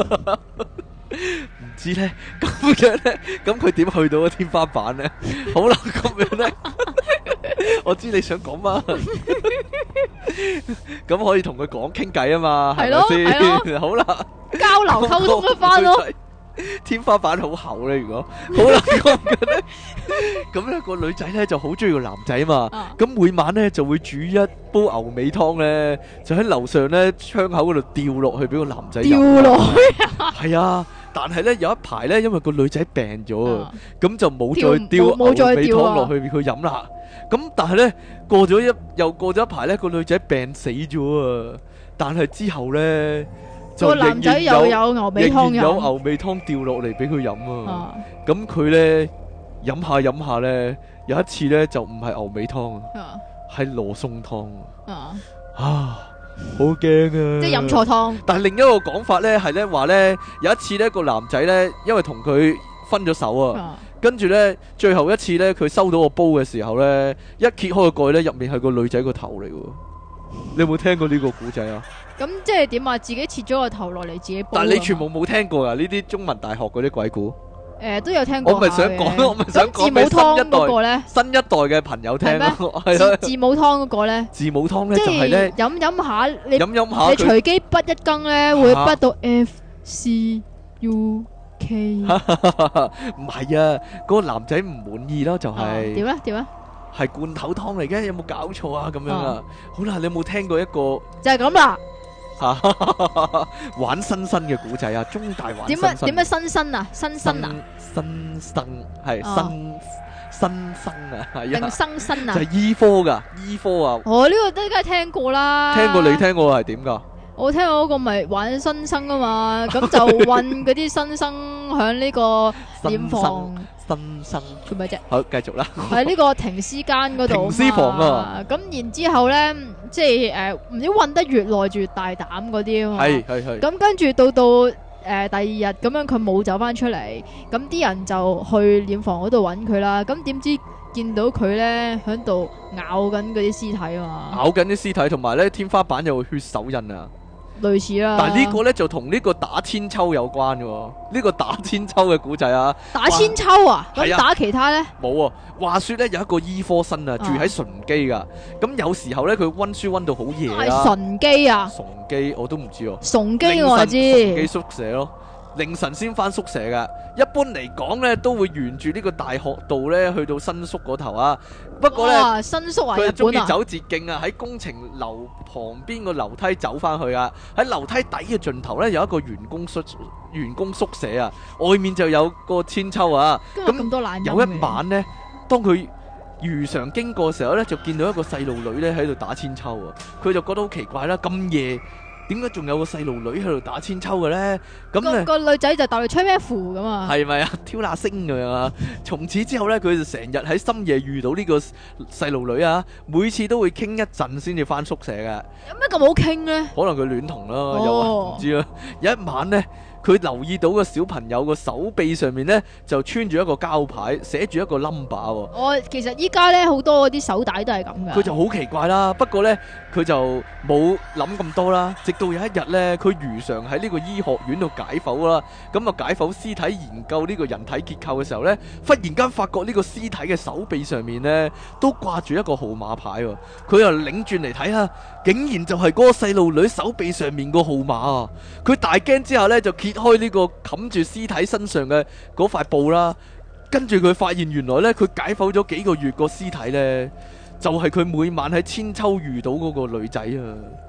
唔知咧。咁樣咧，咁佢點去到個天花板咧？好啦，咁樣咧，我知你想講乜。咁可以同佢講傾偈啊嘛，係咪先？好啦。 交流溝通得翻咯， 天花板好厚咧。如果好啦，咁咧，咁咧個女仔咧就好中意個男仔嘛。咁、啊、每晚咧就會煮一煲牛尾湯咧，就喺樓上咧窗口嗰度掉落去俾個男仔飲。掉落去啊！係啊，但係咧有一排咧，因為個女仔病咗啊，咁就冇再掉牛尾湯落去俾佢飲啦。咁但係咧過咗一又過咗一排咧，個女仔病死咗啊。但係之後咧。個男仔又有牛尾湯飲，有牛尾湯掉落嚟俾佢飲啊！咁佢咧飲下飲下咧，有一次咧就唔係牛尾湯啊，係羅宋湯啊！啊，好驚啊！即係飲錯湯。但係另一個講法咧係咧話咧，有一次咧個男仔咧，因為同佢分咗手啊，跟住咧最後一次咧佢收到個煲嘅時候咧，一揭開個蓋咧，入面係個女仔個頭嚟喎。你有冇聽過呢個古仔啊？咁即係點啊？自己切咗個頭落嚟自己煲。但係你全部冇聽過啊？呢啲中文大學嗰啲鬼故？誒，都有聽過。我咪想講，我咪想講俾新一代嗰咧，新一代嘅朋友聽咯。係咯。字母湯嗰個咧？字母湯咧就係咧飲飲下，你飲飲下，你隨機筆一羹咧會筆到 F C U K。唔係啊，嗰個男仔唔滿意咯，就係。點咧？點咧？係罐頭湯嚟嘅，有冇搞錯啊？咁樣啊，好啦，你有冇聽過一個就係咁啦？玩新生嘅古仔啊，中大玩新生。點樣點樣新生啊？新生啊？新生係新新生啊？定生生啊？就係醫科噶，醫科啊。哦，呢個都梗係聽過啦。聽過，你聽過係點噶？我聽過嗰個咪玩新生啊嘛，咁就運嗰啲新生響呢個殮房。新生做咩啫？好，繼續啦。喺呢個停屍間嗰度。停屍房啊！咁然之後咧，即係誒，唔知運得越耐越大膽嗰啲啊嘛。係係係。咁跟住到到誒第二日咁樣，佢冇走翻出嚟，咁啲人就去殮房嗰度揾佢啦。咁點知見到佢咧喺度咬緊嗰啲屍體啊嘛。咬緊啲屍體，同埋咧天花板有血手印啊。類似啦，但係呢個咧就同呢個打千秋有關嘅，呢、這個打千秋嘅古仔啊，打千秋啊，咁打其他咧冇啊。話說咧有一個醫科生啊，住喺順基噶，咁、啊、有時候咧佢溫書溫到好夜啦。順基啊？崇基我都唔知哦。崇基我知。崇基宿舍咯。凌晨先翻宿舍噶，一般嚟講咧都會沿住呢個大學道咧去到新宿嗰頭啊。不過咧，新宿啊，佢中意走捷徑啊，喺工程樓旁邊個樓梯走翻去啊。喺樓梯底嘅盡頭咧有一個員工宿員工宿舍啊，外面就有個千秋啊。咁咁多懶人。有一晚咧，當佢如常經過嘅時候咧，就見到一個細路女咧喺度打千秋啊。佢就覺得好奇怪啦，咁夜。 點解仲有個細路女喺度打千秋嘅咧？咁咧個個女仔就逗你吹咩符咁啊？ 係咪啊？挑那星咁樣啊！從此之後咧，佢就成日喺深夜遇到呢個細路女啊，每次都會傾一陣先至翻宿舍嘅。 有咩咁好傾咧？ 可能佢戀童啦，又話唔知啦。有一晚咧，佢留意到個小朋友個手臂上面咧就穿住一個膠牌，寫住一個 number 喎。 我其實依家咧好多嗰啲手帶都係咁嘅。 佢就好奇怪啦，不過咧佢就冇諗咁多啦。直到有一日咧，佢如常喺呢個醫學院度解剖啦，咁啊解剖屍體研究呢個人體結構嘅時候咧，忽然間發覺呢個屍體嘅手臂上面咧都掛住一個號碼牌喎。佢又擰轉嚟睇下，竟然就係嗰個細路女手臂上面個號碼啊！佢大驚之下咧就揭開呢個冚住屍體身上嘅嗰塊布啦，跟住佢發現原來咧佢解剖咗幾個月個屍體咧，就係佢每晚喺千秋遇到嗰個女仔啊！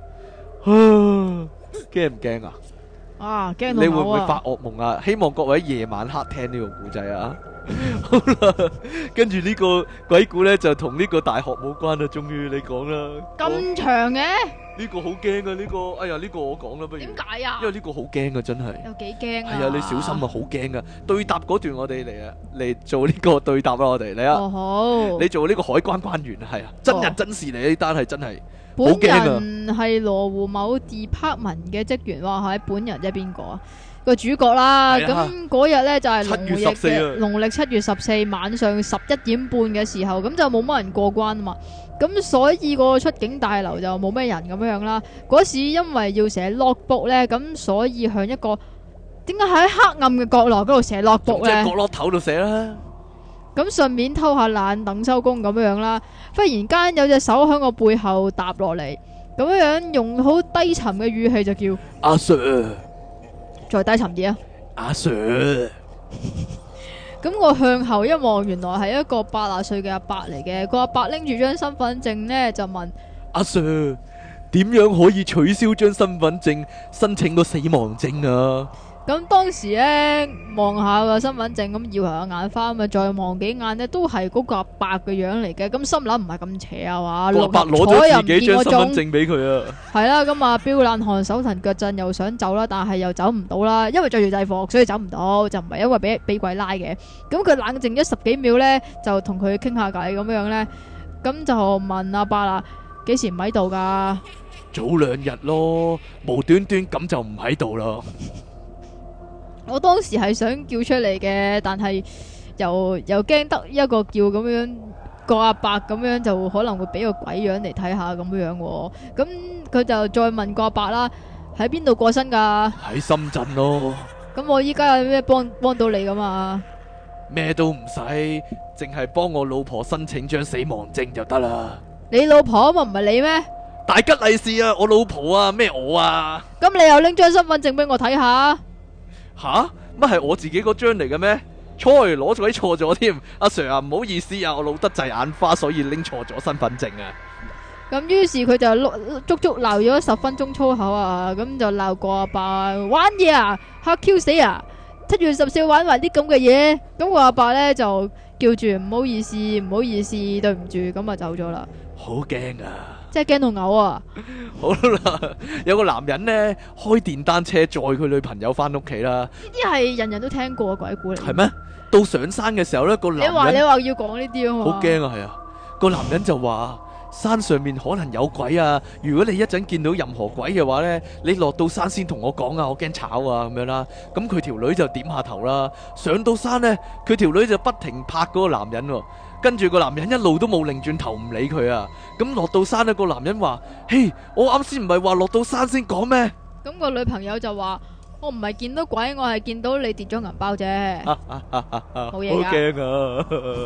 驚唔驚啊？ 啊，驚到嘔啊！ 你會唔會發噩夢啊？希望各位夜晚黑聽呢個故仔啊！好啦，跟住呢個鬼故咧就同呢個大學冇關啦，終於你講啦。 咁長嘅？ 呢個好驚啊！呢個，哎呀，呢個我講啦，不如。點解啊？ 因為呢個好驚啊，真係。 有幾驚啊？ 係啊，你小心啊，好驚啊！對答嗰段我哋嚟啊，嚟做呢個對答啦，我哋嚟啊。 哦好。你做呢個海關關員係啊，真人真事嚟呢單係真係。 本人係羅湖某 department 嘅職員，話係本人即係邊個啊？個主角啦，咁嗰日咧就係農曆嘅農曆七月十四晚上十一點半嘅時候，咁就冇乜人過關啊嘛，咁所以個出境大樓就冇咩人咁樣啦。嗰時因為要寫 logbook 咧，咁所以向一個點解喺黑暗嘅角落嗰度寫 logbook 咧？ 即係角落頭度寫啦。 咁順便偷下懶等收工咁樣啦。忽然間有隻手喺我背後搭落嚟，咁樣用好低沉嘅語氣就叫阿 Sir。 再低沉啲啊！ 阿 Sir， 咁我向後一望，原來係一個八十歲嘅阿伯嚟嘅。個阿伯拎住張身份證呢，就問阿 Sir，點樣可以取消張身份證，申請個死亡證啊？ 咁當時咧望下個身份證，咁搖下眼花，咁啊再望幾眼呢，都係嗰個阿伯嘅樣嚟嘅。咁心諗唔係咁邪啊嘛， 個阿伯攞咗自己張身份證俾佢啊。係啦，咁啊飆冷汗，手騰腳震，又想走啦，但係又走唔到啦，因為着住制服，所以走唔到，就唔係因為俾俾鬼拉嘅。咁佢冷靜咗十幾秒呢，就同佢傾下偈咁樣呢。咁就問阿伯啦，幾時唔喺度噶？ 早兩日咯，無端端咁就唔喺度啦。 我當時係想叫出嚟嘅，但係又又驚得一個叫咁樣，個阿伯咁樣就可能會俾個鬼樣嚟睇下咁樣喎。咁佢就再問個阿伯啦，喺邊度過身噶？ 喺深圳咯。 咁我依家有咩幫幫到你噶嘛？ 咩都唔使，淨係幫我老婆申請張死亡證就得啦。 你老婆嘛唔係你咩？ 大吉利是啊，我老婆啊，咩我啊？ 咁你又拎張身份證俾我睇下？ 吓？乜係我自己嗰張嚟嘅咩？錯，攞咗錯咗添。阿 Sir 啊，唔好意思啊，我老得滯眼花，所以拎錯咗身份證啊。 咁於是佢就足足鬧咗十分鐘粗口啊，咁就鬧過阿伯玩嘢啊，嚇 Q 死啊！七月十四玩埋啲咁嘅嘢，咁個阿伯呢就叫住唔好意思，唔好意思，對唔住，咁啊走咗啦。 好驚啊！ 即係驚到嘔啊！ 好啦，有個男人呢，開電單車載佢女朋友翻屋企啦。 呢啲係人人都聽過嘅鬼故嚟。 係咩？到上山嘅時候呢，個男人你話你話要講呢啲啊嘛？ 好驚啊，係啊！個男人就話山上面可能有鬼啊！如果你一陣見到任何鬼嘅話呢，你落到山先同我講啊，我驚炒啊咁樣啦。咁佢條女就點下頭啦。上到山呢，佢條女就不停拍嗰個男人喎。跟住個男人一路都冇擰轉頭唔理佢啊！咁落到山呢，個男人話：嘿，我啱先唔係話落到山先講咩？ 咁個女朋友就話：我唔係見到鬼，我係見到你跌咗銀包啫。冇嘢㗎。好驚啊！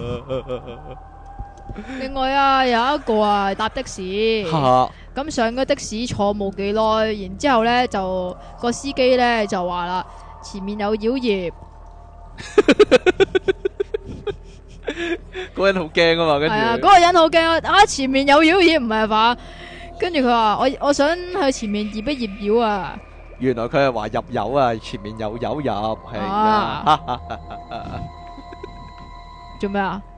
另外啊，有一個啊搭的士，咁上咗的士坐冇幾耐，然之後呢就個司機呢就話啦：前面有妖孽。 嗰人好驚啊嘛，跟住係啊，嗰個人好驚啊！啊，前面有妖孽唔係嘛？跟住佢話：我我想去前面驗一驗妖啊！ 原來佢係話入油啊，前面有油入係啊！ 做咩啊？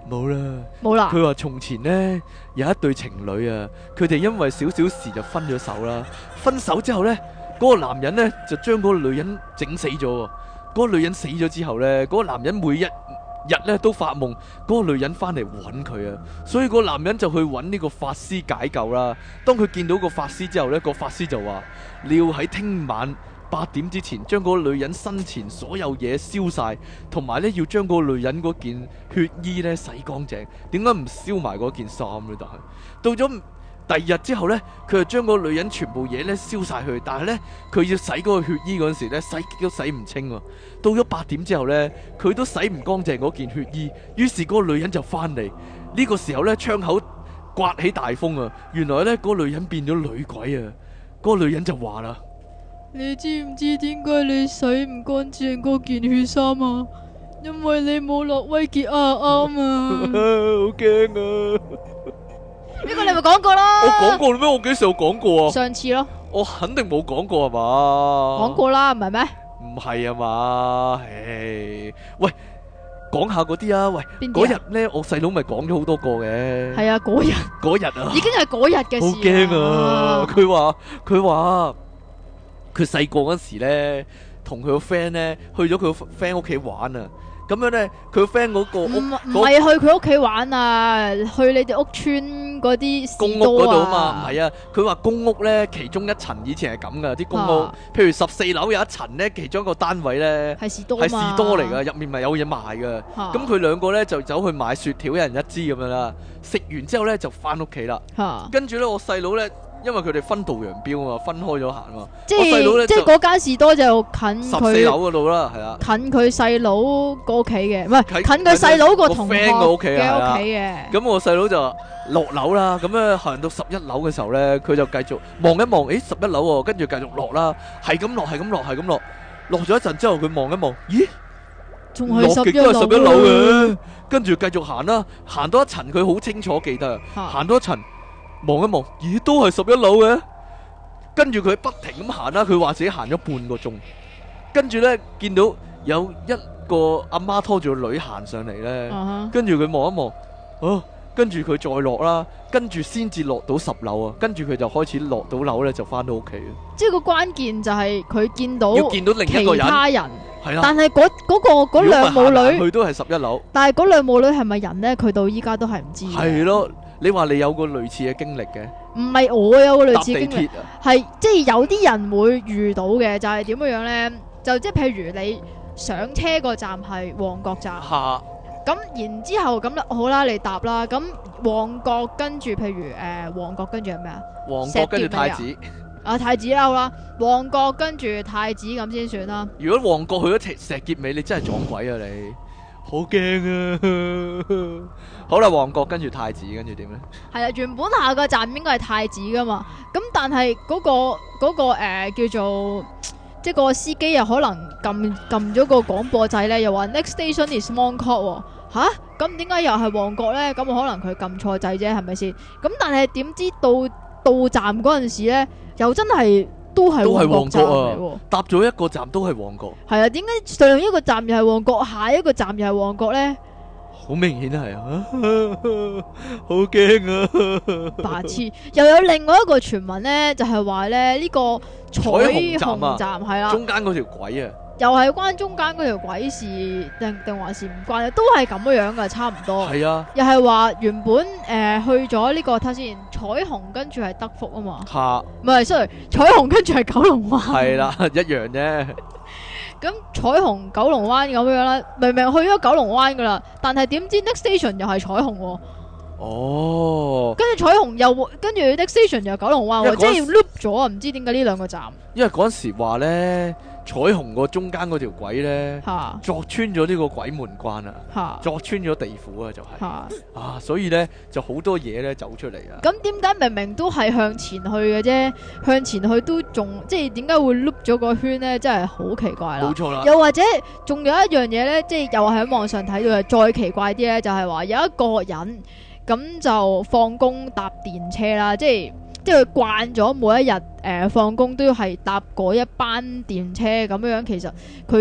冇啦， 冇啦。 佢話從前呢，有一對情侶啊，佢哋因為少少事就分咗手啦。分手之後呢，嗰、嗰個男人呢，就將嗰個女人整死咗。嗰、嗰個女人死咗之後呢，嗰、嗰個男人每一日咧都發夢，嗰、嗰個女人翻嚟揾佢啊，所以個男人就去揾呢個法師解救啦。當佢見到個法師之後呢，個法師就話：你要喺聽晚八點之前將嗰個女人生前所有嘢燒晒，同埋咧要將嗰個女人嗰件血衣咧洗乾淨。點解唔燒埋嗰件衫呢？但係到咗第二日之後呢，佢就將嗰個女人全部嘢咧燒晒去，但係呢，佢要洗嗰個血衣嗰陣時咧，洗極都洗唔清喎。到咗八點之後呢，佢都洗唔乾淨嗰件血衣，於是嗰個女人就翻嚟。呢、這個時候呢，窗口颳起大風啊！原來呢，嗰、那個女人變咗女鬼啊！嗰、那個女人就話啦： 你知唔知點解你洗唔乾淨嗰件血衫啊？因為你冇落威傑啊啱啊！ 好驚啊！ 呢個你咪講過啦。 我講過咩？我幾時有講過啊？ 上次咯。 我肯定冇講過係嘛？ 講過啦，唔係咩？唔係啊嘛？唉，喂，講下嗰啲啊！喂，嗰日咧，我細佬咪講咗好多個嘅。係啊，嗰日。 嗰日啊。 已經係嗰日嘅事。 好驚啊！佢話佢話佢細個嗰時咧，同佢個 friend 咧去咗佢個 friend 屋企玩啊。咁樣咧，佢個 friend 嗰個屋唔唔係去佢屋企玩啊，去你哋屋村嗰啲公屋嗰度啊嘛，唔係啊，佢話公屋咧其中一層以前係咁噶，啲公屋，啊、譬如十四樓有一層咧，其中一個單位咧係士多係士多嚟噶，入面咪有嘢賣噶，咁佢兩個咧就走去買雪條，一人一支咁樣啦，食完之後咧就翻屋企啦， 啊、跟住咧我細佬咧。因為佢哋分道揚鑣啊嘛，分開咗行嘛。 即係即係嗰間士多就近佢十四樓嗰度啦，係啊。 近佢細佬個屋企嘅，唔係近佢細佬個同學嘅屋企嘅。 咁我細佬就落樓啦，咁咧行到十一樓嘅時候咧，佢就繼續望一望，誒十一樓喎，跟住繼續落啦，係咁落，係咁落，係咁落，落咗一陣之後，佢望一望，咦， 仲係十一樓嘅，跟住繼續行啦，行多一層，佢好清楚記得，行多一層。望一望，咦，都係十一樓嘅。跟住佢不停咁行啦，佢話自己行咗半個鐘。跟住呢，見到有一個阿媽拖住個女行上嚟呢。Uh huh. 跟住佢望一望，啊，跟住佢再落啦，跟住先至落到十樓啊。跟住佢就開始落到樓呢，就翻到屋企。 即係個關鍵就係佢見到要見到另一個人， 其他人。 係啦， 但係嗰嗰個嗰兩母女， 佢都係十一樓。 但係嗰兩母女係咪人呢？佢到依家都係唔知。 係咯。你話你有個類似嘅經歷嘅？ 唔係我有個類似經歷，係、 啊、 即係有啲人會遇到嘅，就係點樣樣呢？就即係譬如你上車個站係旺角站，咁哈然之後咁好啦，你搭啦，咁旺角跟住譬如誒、呃、旺角跟住係咩啊？ 旺角跟住太子啊太子啦好啦，旺角跟住太子咁先算啦。 如果旺角去咗石硤尾，你真係撞鬼啊你！好驚啊！好啦，旺角跟住太子，跟住點呢？係啊，原本下個站應該係太子噶嘛，咁但係嗰、嗰個嗰、嗰個誒、呃、叫做即係個司機又可能撳撳咗個廣播掣咧，又話 next station is Mongkok 吓，咁點解又係旺角咧？咁可能佢撳錯掣啫，係咪先？咁但係點知到到站嗰陣時咧，又真係。都係旺角啊！ 搭咗一個站都係旺角。 係啊，點解上一個站又係旺角，下一個站又係旺角咧？ 好明顯係啊，好驚啊！ 白痴！又有另外一個傳聞咧，就係話咧呢個彩虹站係啦， 中間嗰條軌啊， 又係關中間嗰條軌事定定還是唔關？都係咁樣樣噶，差唔多。 係啊， 又係話原本誒、呃、去咗呢、這個睇先，彩虹跟住係德福啊嘛。吓哈，唔係，sorry，彩虹跟住係九龍灣。係啦， 一樣啫。 咁彩虹九龍灣咁樣啦，明明去咗九龍灣噶啦，但係點知 next station 又係彩虹喎。 哦， 跟住彩虹又跟住 next station 又九龍灣，即係要 loop 咗啊！唔知點解呢兩個站。因為嗰陣時話咧，彩虹個中間嗰條軌咧， 哈鑿穿咗呢個鬼門關啊， 哈鑿穿咗地府啊，就係、是、 哈啊，所以咧就好多嘢咧走出嚟啊。 咁點解明明都係向前去嘅啫，向前去都仲即係點解會 loop 咗個圈咧？真係好奇怪啦。 冇錯啦。 又或者仲有一樣嘢咧，即係又係喺網上睇到嘅，再奇怪啲咧，就係、是、話有一個人。咁就放工搭電車啦，即係即係佢慣咗每一日誒放工都要係搭嗰一班電車咁樣，其實佢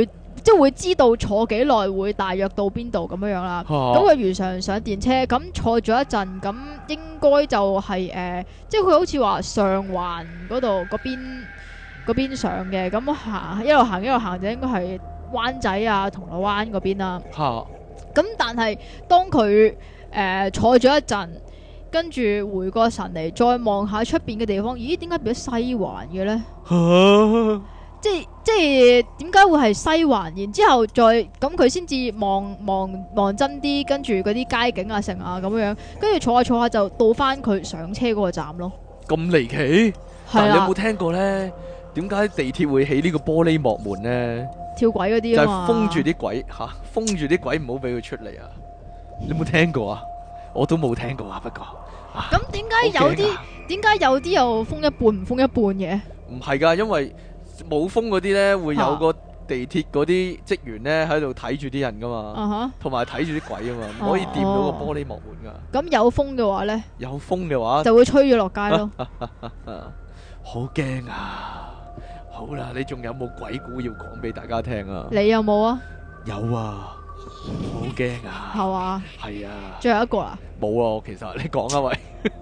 即係會知道坐幾耐會大約到邊度咁樣樣啦。咁佢如常上電車，咁坐咗一陣，咁應該就係、是、誒、呃，即係佢好似話上環嗰度嗰邊嗰邊上嘅，咁行一路行一路行就應該係灣仔啊、銅鑼灣嗰邊啦。咁但係當佢誒、呃、坐咗一陣，跟住回過神嚟，再望下出邊嘅地方，咦？點解變咗西環嘅咧？即係即係點解會係西環？然之後再咁佢先至望望望真啲，跟住嗰啲街景啊、成啊咁樣，跟住坐下坐下就到翻佢上車嗰個站咯。 咁離奇？但係係啊你有冇聽過咧？點解地鐵會起呢個玻璃幕門咧？ 跳軌嗰啲啊嘛， 就係封住啲鬼吓，封住啲鬼唔好俾佢出嚟啊！你有冇聽過啊？我都冇聽過啊，不過咁點解有啲點解有啲又封一半唔封一半嘅？ 唔係㗎，因為冇封嗰啲咧會有個地鐵嗰啲職員咧喺度睇住啲人㗎嘛，同埋睇住啲鬼啊嘛，唔可以掂到個玻璃幕門㗎。 咁有封嘅話咧， 有封嘅話就會吹咗落街咯。 好驚啊！好啦，你仲有冇鬼故要講俾大家聽啊？ 你有冇啊？ 有啊，好驚啊！ 係嘛？ 係啊。 最後一個啦。 冇啊，其實你講啊喂。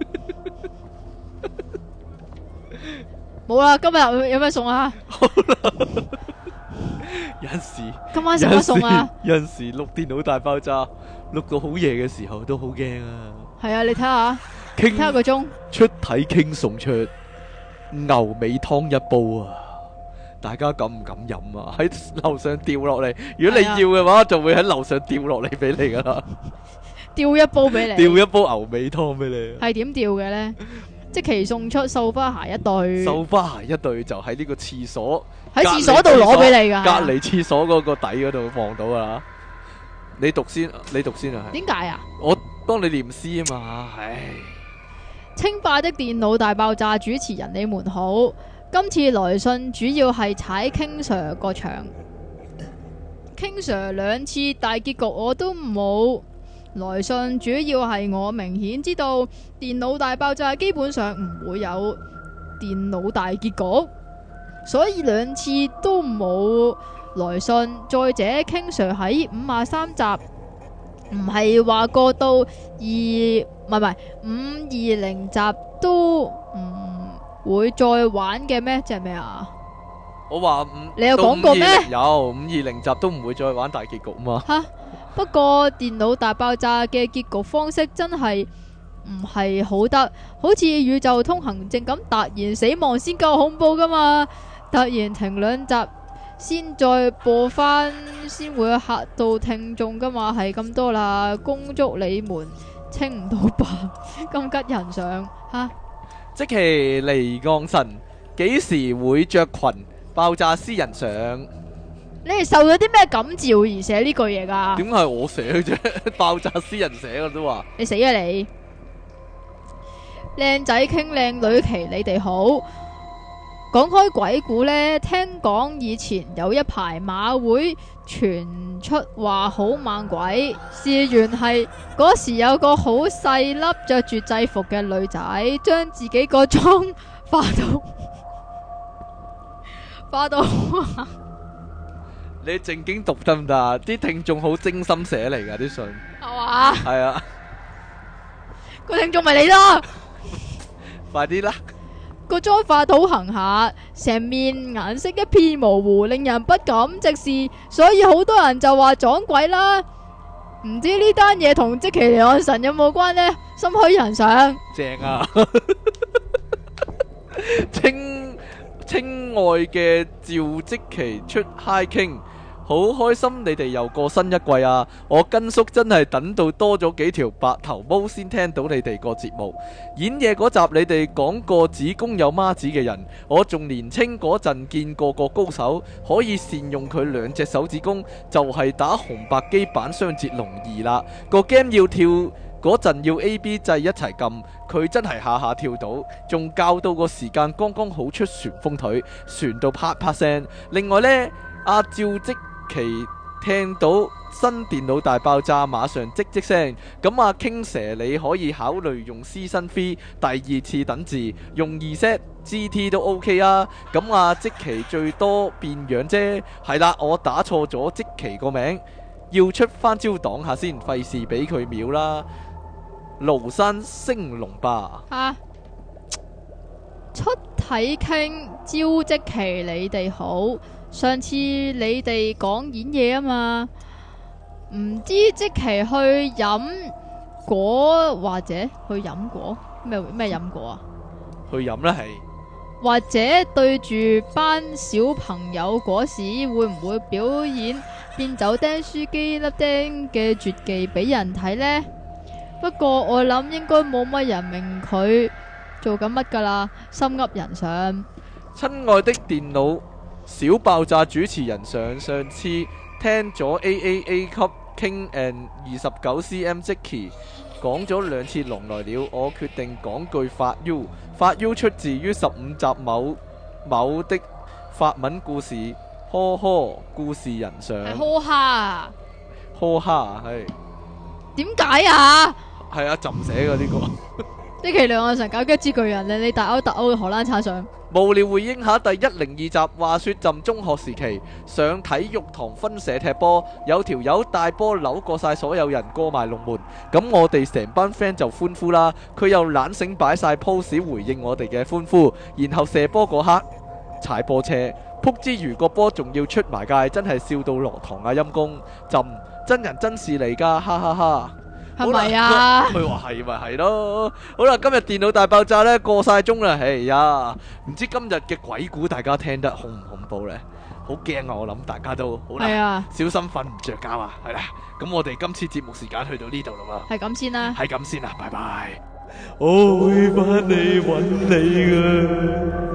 冇啦，今日有咩餸啊？ 好啦。有陣時。 今晚食乜餸啊？ 有陣時錄電腦大爆炸，錄到好夜嘅時候都好驚啊。係啊，你睇下，睇下個鐘。 出體傾送出牛尾湯一煲啊！大家敢唔敢飲啊？喺樓上掉落嚟，如果你要嘅話，就會喺樓上掉落嚟俾你噶啦。掉一煲俾你， 掉一煲牛尾湯俾你。 係點掉嘅咧？即期送出繡花鞋一對。 繡花鞋一對就喺呢個廁所， 喺廁所度攞俾你噶。 隔離廁所嗰個底嗰度望到噶啦。你讀先，你讀先啊。 點解啊？ 我幫你念詩啊嘛。唉。 清霸的電腦大爆炸主持人，你們好。今次來信主要係踩 King Sir 個場，King Sir 兩次大結局我都冇來信，主要係我明顯知道電腦大爆炸基本上唔會有電腦大結局，所以兩次都冇來信。再者 King Sir 喺五十三集唔係話過到二唔係唔係五二零集都唔會再玩嘅咩？即係咩啊？ 我話五， 你有講過咩？ 有五二零集都唔會再玩大結局嘛？ 吓，不過電腦大爆炸嘅結局方式真係唔係好得，好似宇宙通行證咁，突然死亡先夠恐怖噶嘛？突然停兩集先再播翻，先會嚇到聽眾噶嘛？係咁多啦，恭祝你們清唔到白，咁吉人上吓。 積淇離岸神幾時會着裙爆炸私人相？ 你係受咗啲咩感召而寫呢句嘢噶？ 點係我寫啫？爆炸私人寫嘅都話。 你死啊你！靚仔傾靚女期，你哋好。講開鬼故呢，聽講以前有一排馬會傳出話好猛鬼，事緣係嗰時有個好細粒着住制服嘅女仔，將自己個妝化到化到。 你正經讀得唔得啊？啲聽眾好精心寫嚟噶啲信， 係嘛？ 係啊， 個聽眾咪你咯， 快啲啦！ 個妝化到行下，成面顏色一片模糊，令人不敢直視，所以好多人就話撞鬼啦。唔知呢單嘢同積淇離岸神有冇關呢？心虛人上， 正啊！清清愛嘅趙積淇出 High King。好開心你哋又過新一季啊！我根叔真係等到多咗幾條白頭毛先聽到你哋個節目。演嘢嗰集你哋講過子宮有孖子嘅人，我仲年青嗰陣見過個高手可以善用佢兩隻手指公，就係、是、打紅白機版雙截龍二啦。個 game 要跳嗰陣要 A B 掣一齊撳，佢真係下下跳到，仲教到個時間剛剛好出旋風腿，旋到啪啪聲。另外呢，阿趙積其聽到新電腦大爆炸馬上即即聲。咁啊傾蛇你可以考慮用 Season three 第二次等字，用 Z G T 都 OK 啊。咁啊即期最多變樣啫。係啦，我打錯咗即期個名，要出翻招擋下先，費事俾佢秒啦。廬山升龍吧。 啊！出體傾招即期你哋好，上次你哋講演嘢啊嘛，唔知即期去飲果或者去飲果咩咩飲果啊？ 去飲啦係。 或者對住班小朋友嗰時會唔會表演變走釘書機粒釘嘅絕技俾人睇呢？不過我諗應該冇乜人明佢做緊乜噶啦，心噏人上。 親愛的電腦小爆炸主持人上，上次聽咗 A A A 級 King and 二十九 cm 即期講咗兩次龍來了，我決定講句發 U。發 U 出自於十五集某某的法文故事，呵呵，故事人上。 係呵哈， 呵哈係。 點解啊？ 係啊，朕寫嘅呢個。 呢期兩岸神搞一支巨人，你你大歐特歐嘅荷蘭撐上。 無聊回應下第一零二集，話說朕中學時期上體育堂分社踢波，有條友帶波扭過晒所有人，過埋龍門，咁我哋成班 friend 就歡呼啦。佢又懶醒擺晒 pose 回應我哋嘅歡呼，然後射波嗰刻踩波車，撲之餘個波仲要出埋界，真係笑到落堂啊！陰公，朕真人真事嚟噶，哈哈哈。 係咪啊？ 佢話係咪係咯？好啦，今日電腦大爆炸呢過晒鐘啦，哎呀，唔知今日嘅鬼故大家聽得恐唔恐怖呢？好驚啊！我諗大家都好啦， 啊、 小心瞓唔着覺啊！係啦，咁我哋今次節目時間去到呢度啦嘛， 係咁先啦， 係咁先啦，拜拜。我會返嚟揾你啊！